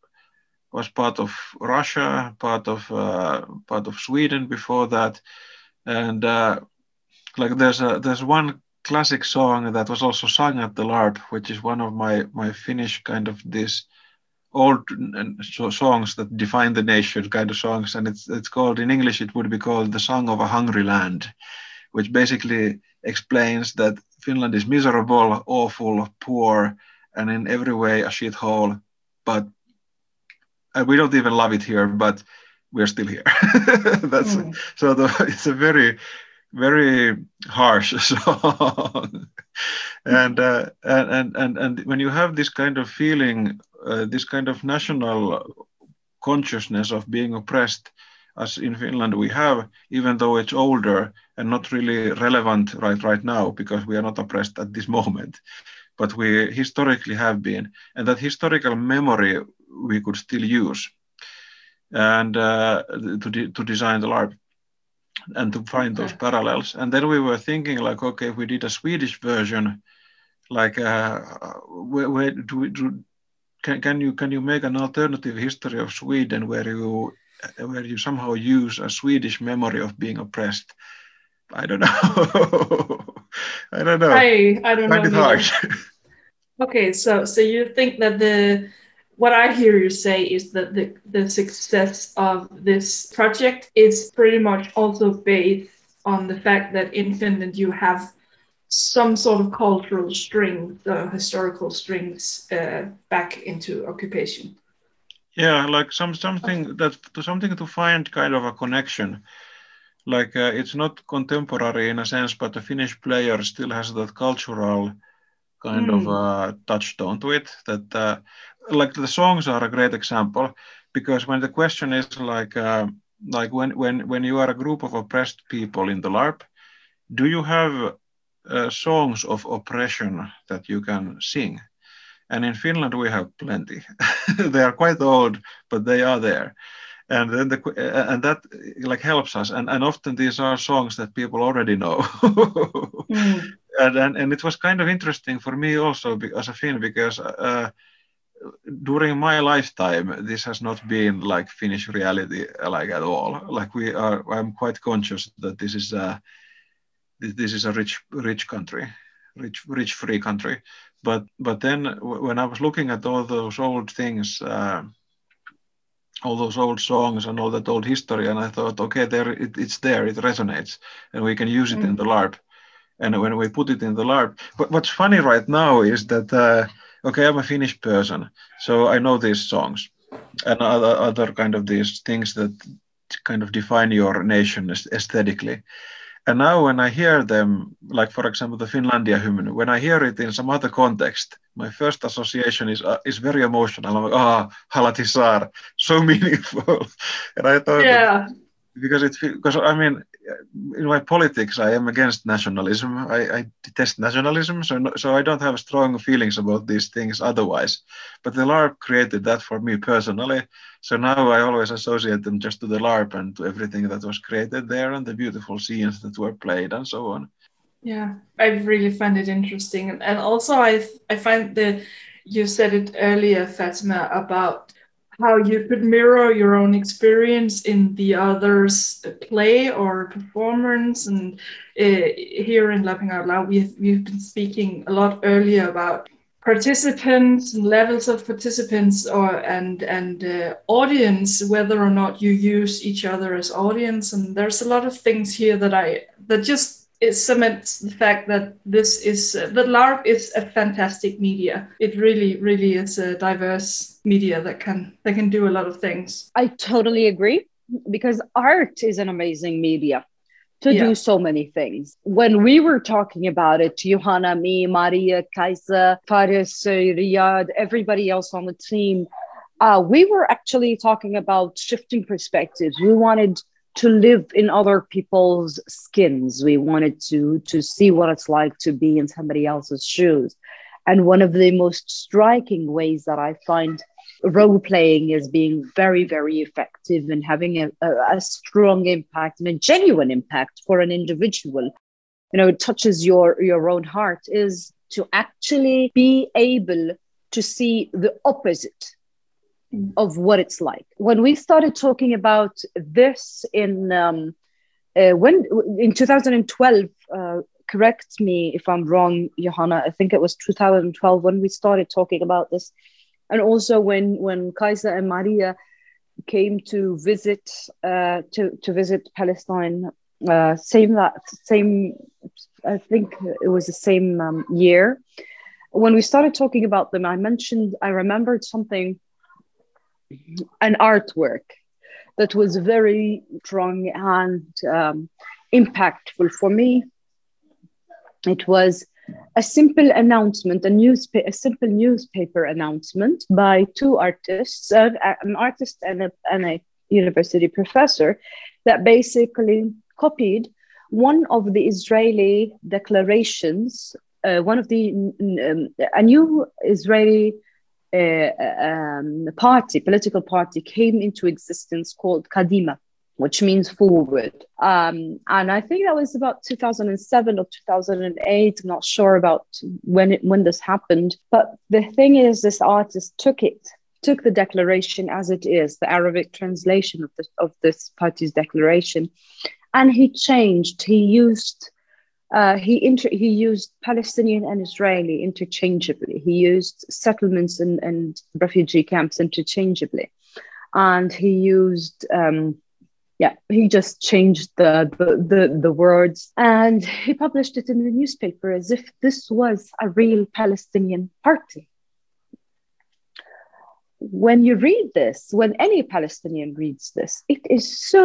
Speaker 4: was part of Russia, part of uh, part of Sweden before that, and uh, like there's a there's one classic song that was also sung at the LARP, which is one of my my Finnish kind of this old so songs that define the nation kind of songs, and it's it's called in English it would be called the Song of a Hungry Land, which basically explains that Finland is miserable, awful, poor, and in every way a shithole, but and we don't even love it here, but we're still here. That's mm. so the, it's a very very harsh song, and, uh, and and and when you have this kind of feeling, uh, this kind of national consciousness of being oppressed, as in Finland we have, even though it's older and not really relevant right right now because we are not oppressed at this moment, but we historically have been, and that historical memory we could still use, and uh, to de- to design the LARP. And to find okay. those parallels. And then we were thinking like, okay, if we did a Swedish version, like, uh, where, where do we do? Can, can you can you make an alternative history of Sweden where you where you somehow use a Swedish memory of being oppressed? I don't know. I don't know.
Speaker 3: I I don't
Speaker 4: I find
Speaker 3: know.
Speaker 4: it hard.
Speaker 3: Okay, so so you think that the what I hear you say is that the, the success of this project is pretty much also based on the fact that in Finland you have some sort of cultural strings, uh, historical strings uh, back into occupation.
Speaker 4: Yeah, like some something that to something to find kind of a connection. Like uh, it's not contemporary in a sense, but the Finnish player still has that cultural kind mm. of uh, touchstone to it. That uh, like the songs are a great example because when the question is like uh, like when when when you are a group of oppressed people in the LARP, do you have uh, songs of oppression that you can sing? And in Finland we have plenty. They are quite old, but they are there. And then the uh, and that like helps us. And and often these are songs that people already know. mm. and, and and it was kind of interesting for me also as a Finn because uh, during my lifetime this has not been like Finnish reality like at all. Like we are, I'm quite conscious that this is a this, this is a rich rich country, rich rich free country. But but then when I was looking at all those old things. Uh, all those old songs and all that old history, and I thought, okay, there it, it's there, it resonates, and we can use it mm. in the LARP. And when we put it in the LARP, but what's funny right now is that, uh, okay, I'm a Finnish person, so I know these songs and other, other kind of these things that kind of define your nation aesthetically. And now when I hear them, like for example, the Finlandia hymn, when I hear it in some other context, my first association is uh, is very emotional. I'm like, ah, oh, Halatisar, so meaningful. And I thought,
Speaker 3: yeah.
Speaker 4: that, because it, because I mean, in my politics, I am against nationalism. I, I detest nationalism, so no, so I don't have strong feelings about these things otherwise. But the LARP created that for me personally. So now I always associate them just to the LARP and to everything that was created there and the beautiful scenes that were played and so on.
Speaker 3: Yeah, I really find it interesting. And also I I find that you said it earlier, Fatima, about how you could mirror your own experience in the other's play or performance. And uh, here in Lapping Out Loud, we've, we've been speaking a lot earlier about participants and levels of participants or and and uh, audience, whether or not you use each other as audience. And there's a lot of things here that I that just it cements the fact that this is uh, that LARP is a fantastic media. It really, really is a diverse media that can that can do a lot of things.
Speaker 5: I totally agree, because art is an amazing media to
Speaker 3: Yeah.
Speaker 5: do so many things. When we were talking about it, Johanna, me, Maria, Kaisa, Faris, uh, Riyad, everybody else on the team, uh, we were actually talking about shifting perspectives. We wanted to live in other people's skins. We wanted to, to see what it's like to be in somebody else's shoes. And one of the most striking ways that I find role playing is being very, very effective and having a, a, a strong impact and a genuine impact for an individual. You know, it touches your, your own heart, is to actually be able to see the opposite of what it's like. When we started talking about this in um, uh, when in two thousand twelve, uh, correct me if I'm wrong, Johanna, I think it was two thousand twelve when we started talking about this. And also when when Kaisa and Maria came to visit uh, to to visit Palestine, uh, same that same I think it was the same um, year. When we started talking about them, I mentioned I remembered something, an artwork that was very strong and um, impactful for me. It was a simple announcement, a newspaper, a simple newspaper announcement by two artists, uh, an artist and a, and a university professor, that basically copied one of the Israeli declarations, uh, one of the um, a new Israeli uh, um, party, political party, came into existence called Kadima, which means forward. Um, and I think that was about two thousand seven or two thousand eight. I'm not sure about when it, when this happened. But the thing is, this artist took it, took the declaration as it is, the Arabic translation of this, of this party's declaration, and he changed. He used uh, he inter- he used Palestinian and Israeli interchangeably. He used settlements and, and refugee camps interchangeably, and he used. Um, Yeah, he just changed the, the, the, the words, and he published it in the newspaper as if this was a real Palestinian party. When you read this, when any Palestinian reads this, it is so,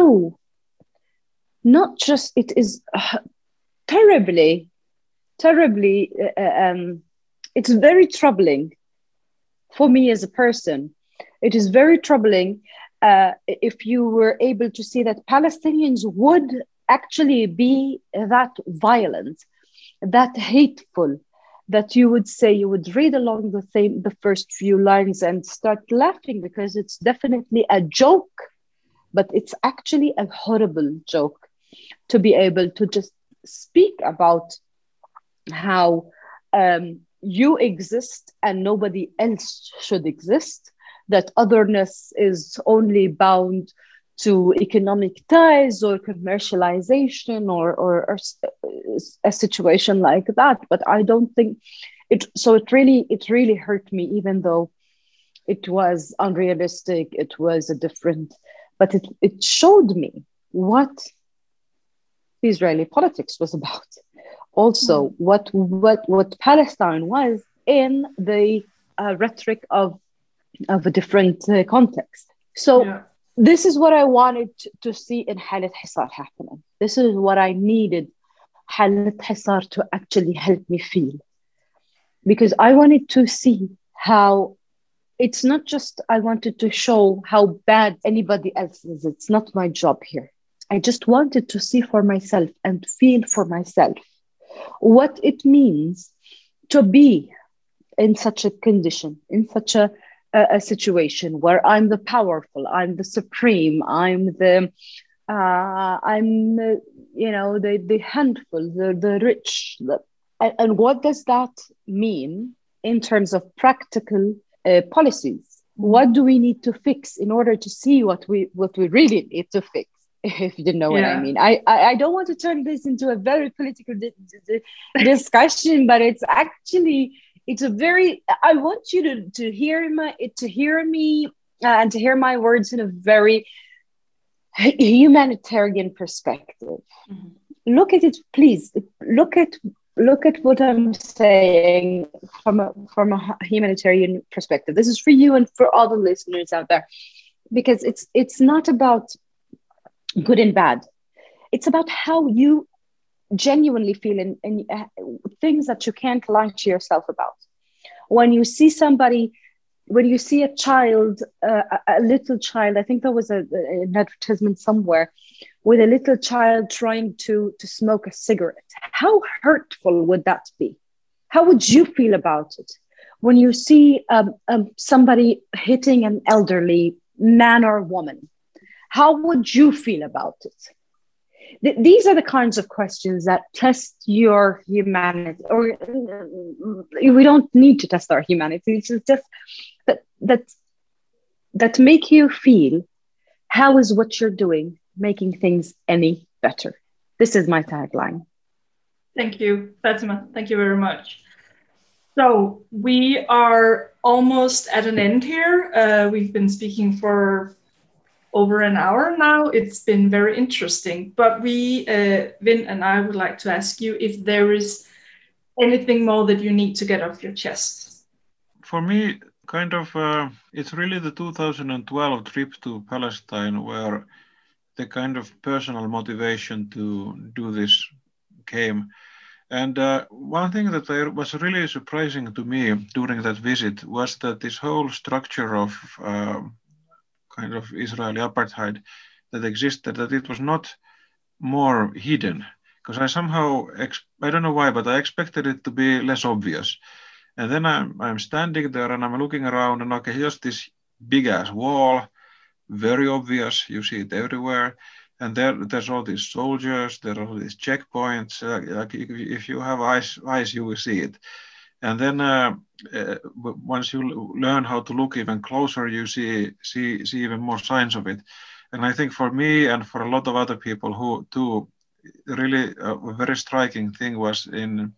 Speaker 5: not just, it is uh, terribly, terribly, uh, um, it's very troubling for me as a person. It is very troubling Uh, if you were able to see that Palestinians would actually be that violent, that hateful, that you would say, you would read along the same, the first few lines and start laughing because it's definitely a joke, but it's actually a horrible joke to be able to just speak about how um, you exist and nobody else should exist, that otherness is only bound to economic ties or commercialization or, or, or a situation like that. But I don't think it, so it really, it really hurt me, even though it was unrealistic, it was a different, but it, it showed me what Israeli politics was about. Also, mm. what, what, what Palestine was in the uh, rhetoric of of a different uh, context. So yeah. This is what I wanted to, to see in Halet Hisar happening. This is what I needed Halet Hisar to actually help me feel. Because I wanted to see how, it's not just, I wanted to show how bad anybody else is. It's not my job here. I just wanted to see for myself and feel for myself what it means to be in such a condition, in such a A, a situation where I'm the powerful, I'm the supreme, I'm the, uh, I'm the, you know, the the handful, the the rich. The, and, and what does that mean in terms of practical uh, policies? What do we need to fix in order to see what we what we really need to fix? If you know what yeah. I mean. I, I I don't want to turn this into a very political di- di- discussion, but it's actually. It's a very, I want you to, to hear my, to hear me uh, and to hear my words in a very humanitarian perspective. Mm-hmm. look at it, please. Look at look at what I'm saying from a, from a humanitarian perspective. This is for you and for all the listeners out there, because it's it's not about good and bad. It's about how you genuinely feel and, and uh, things that you can't lie to yourself about. When you see somebody, when you see a child, uh, a, a little child, I think there was a, a, an advertisement somewhere with a little child trying to, to smoke a cigarette. How hurtful would that be? How would you feel about it? When you see um, um, somebody hitting an elderly man or woman, how would you feel about it? Th- these are the kinds of questions that test your humanity, or uh, we don't need to test our humanity. It's just that, that, that make you feel, how is what you're doing making things any better? This is my tagline.
Speaker 3: Thank you, Fatima. Thank you very much. So we are almost at an end here. Uh, we've been speaking for over an hour now. It's been very interesting, but we, uh, Vin and I would like to ask you if there is anything more that you need to get off your chest.
Speaker 4: For me, kind of, uh, it's really the two thousand twelve trip to Palestine where the kind of personal motivation to do this came. And uh, one thing that I, was really surprising to me during that visit was that this whole structure of uh, kind of Israeli apartheid that existed, that it was not more hidden. Because I somehow, ex- I don't know why, but I expected it to be less obvious. And then I'm, I'm standing there and I'm looking around and okay, here's this big ass wall, very obvious, you see it everywhere. And there, there's all these soldiers, there are all these checkpoints. Uh, like if, if you have eyes, eyes, you will see it. And then uh, uh, once you learn how to look even closer, you see, see, see even more signs of it. And I think for me and for a lot of other people who too, really uh, a very striking thing was in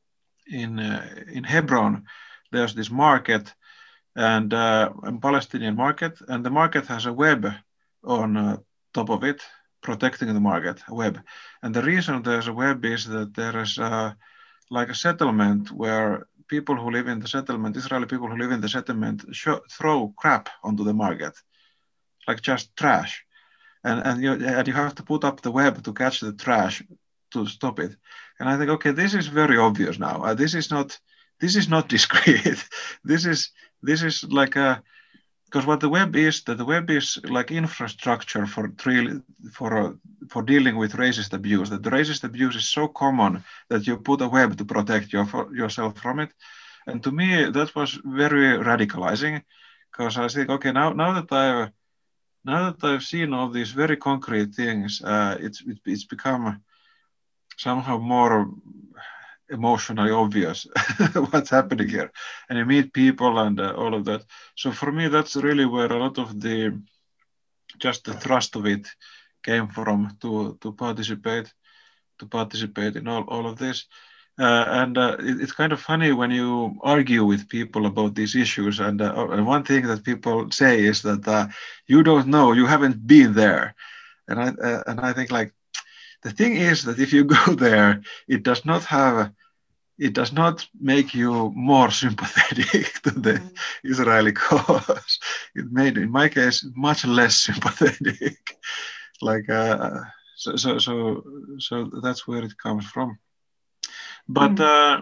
Speaker 4: in uh, in Hebron, there's this market and uh, a Palestinian market, and the market has a web on uh, top of it, protecting the market, a web. And the reason there's a web is that there is uh, like a settlement where people who live in the settlement, Israeli people who live in the settlement, show, throw crap onto the market, like just trash. And, and, you, and you have to put up the web to catch the trash to stop it. And I think, okay, this is very obvious now. Uh, this is not, this is not discreet. this is, this is like a, because what the web is, that the web is like infrastructure for for uh, for dealing with racist abuse. That the racist abuse is so common that you put a web to protect your, yourself from it. And to me, that was very radicalizing, because I think, okay, now now that I now that I've seen all these very concrete things, uh, it's it, it's become somehow more emotionally obvious what's happening here, and you meet people and uh, all of that. So for me, that's really where a lot of the just the thrust of it came from, to to participate to participate in all, all of this. Uh, and uh, it, it's kind of funny when you argue with people about these issues, and, uh, and one thing that people say is that uh, you don't know, you haven't been there. And I uh, and I think, like, the thing is that if you go there, it does not have, it does not make you more sympathetic to the mm. Israeli cause. It made, in my case, much less sympathetic. Like, uh, so, so, so, so that's where it comes from. But, mm. uh,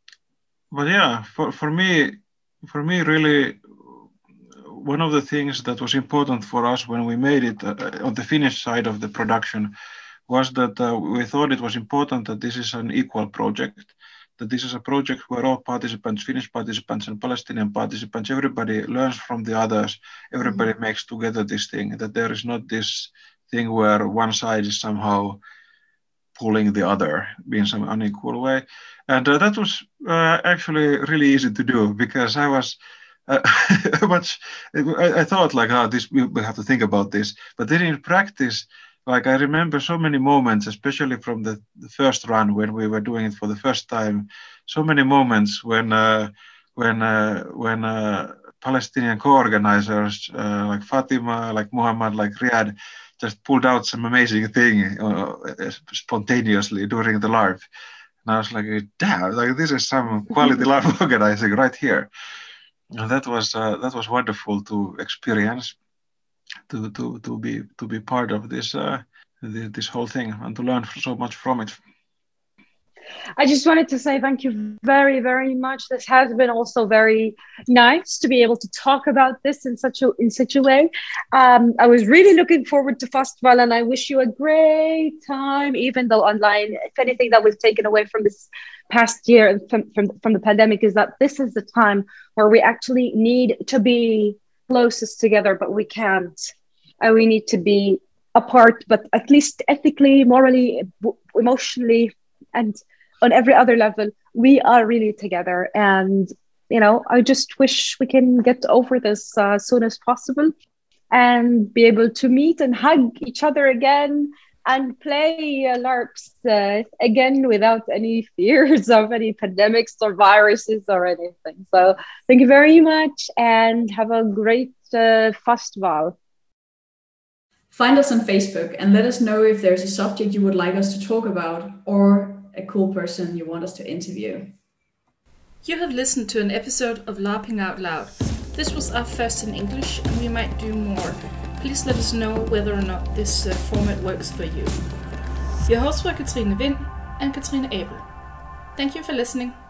Speaker 4: but yeah, for, for me, for me, really, one of the things that was important for us when we made it uh, on the Finnish side of the production was that uh, we thought it was important that this is an equal project, that this is a project where all participants, Finnish participants and Palestinian participants, everybody learns from the others, everybody mm-hmm. makes together this thing, that there is not this thing where one side is somehow pulling the other in some unequal way. And uh, that was uh, actually really easy to do, because I was uh, much, I, I thought like, oh, this, we, we have to think about this. But then in practice, like, I remember so many moments, especially from the, the first run when we were doing it for the first time, so many moments when uh, when uh, when uh, Palestinian co-organizers uh, like Fatima, like Muhammad, like Riyad, just pulled out some amazing thing uh, spontaneously during the live. And I was like, damn, like this is some quality live organizing right here. And that was uh, that was wonderful to experience, to to to be to be part of this uh, this whole thing and to learn so much from it.
Speaker 5: I just wanted to say thank you very, very much. This has been also very nice to be able to talk about this in such a in such a way. Um, I was really looking forward to Festival, and I wish you a great time, even though online, if anything that was taken away from this past year from, from, from the pandemic is that this is the time where we actually need to be closest together, but we can't. And we need to be apart, but at least ethically, morally, emotionally, and on every other level, we are really together. And, you know, I just wish we can get over this uh, as soon as possible and be able to meet and hug each other again and play uh, LARPs uh, again without any fears of any pandemics or viruses or anything. So thank you very much and have a great uh, festival.
Speaker 1: Find us on Facebook and let us know if there's a subject you would like us to talk about or a cool person you want us to interview.
Speaker 2: You have listened to an episode of LARPing Out Loud. This was our first in English, and we might do more. Please let us know whether or not this uh, format works for you. Your hosts were Katrine Vind and Katrine Abel. Thank you for listening.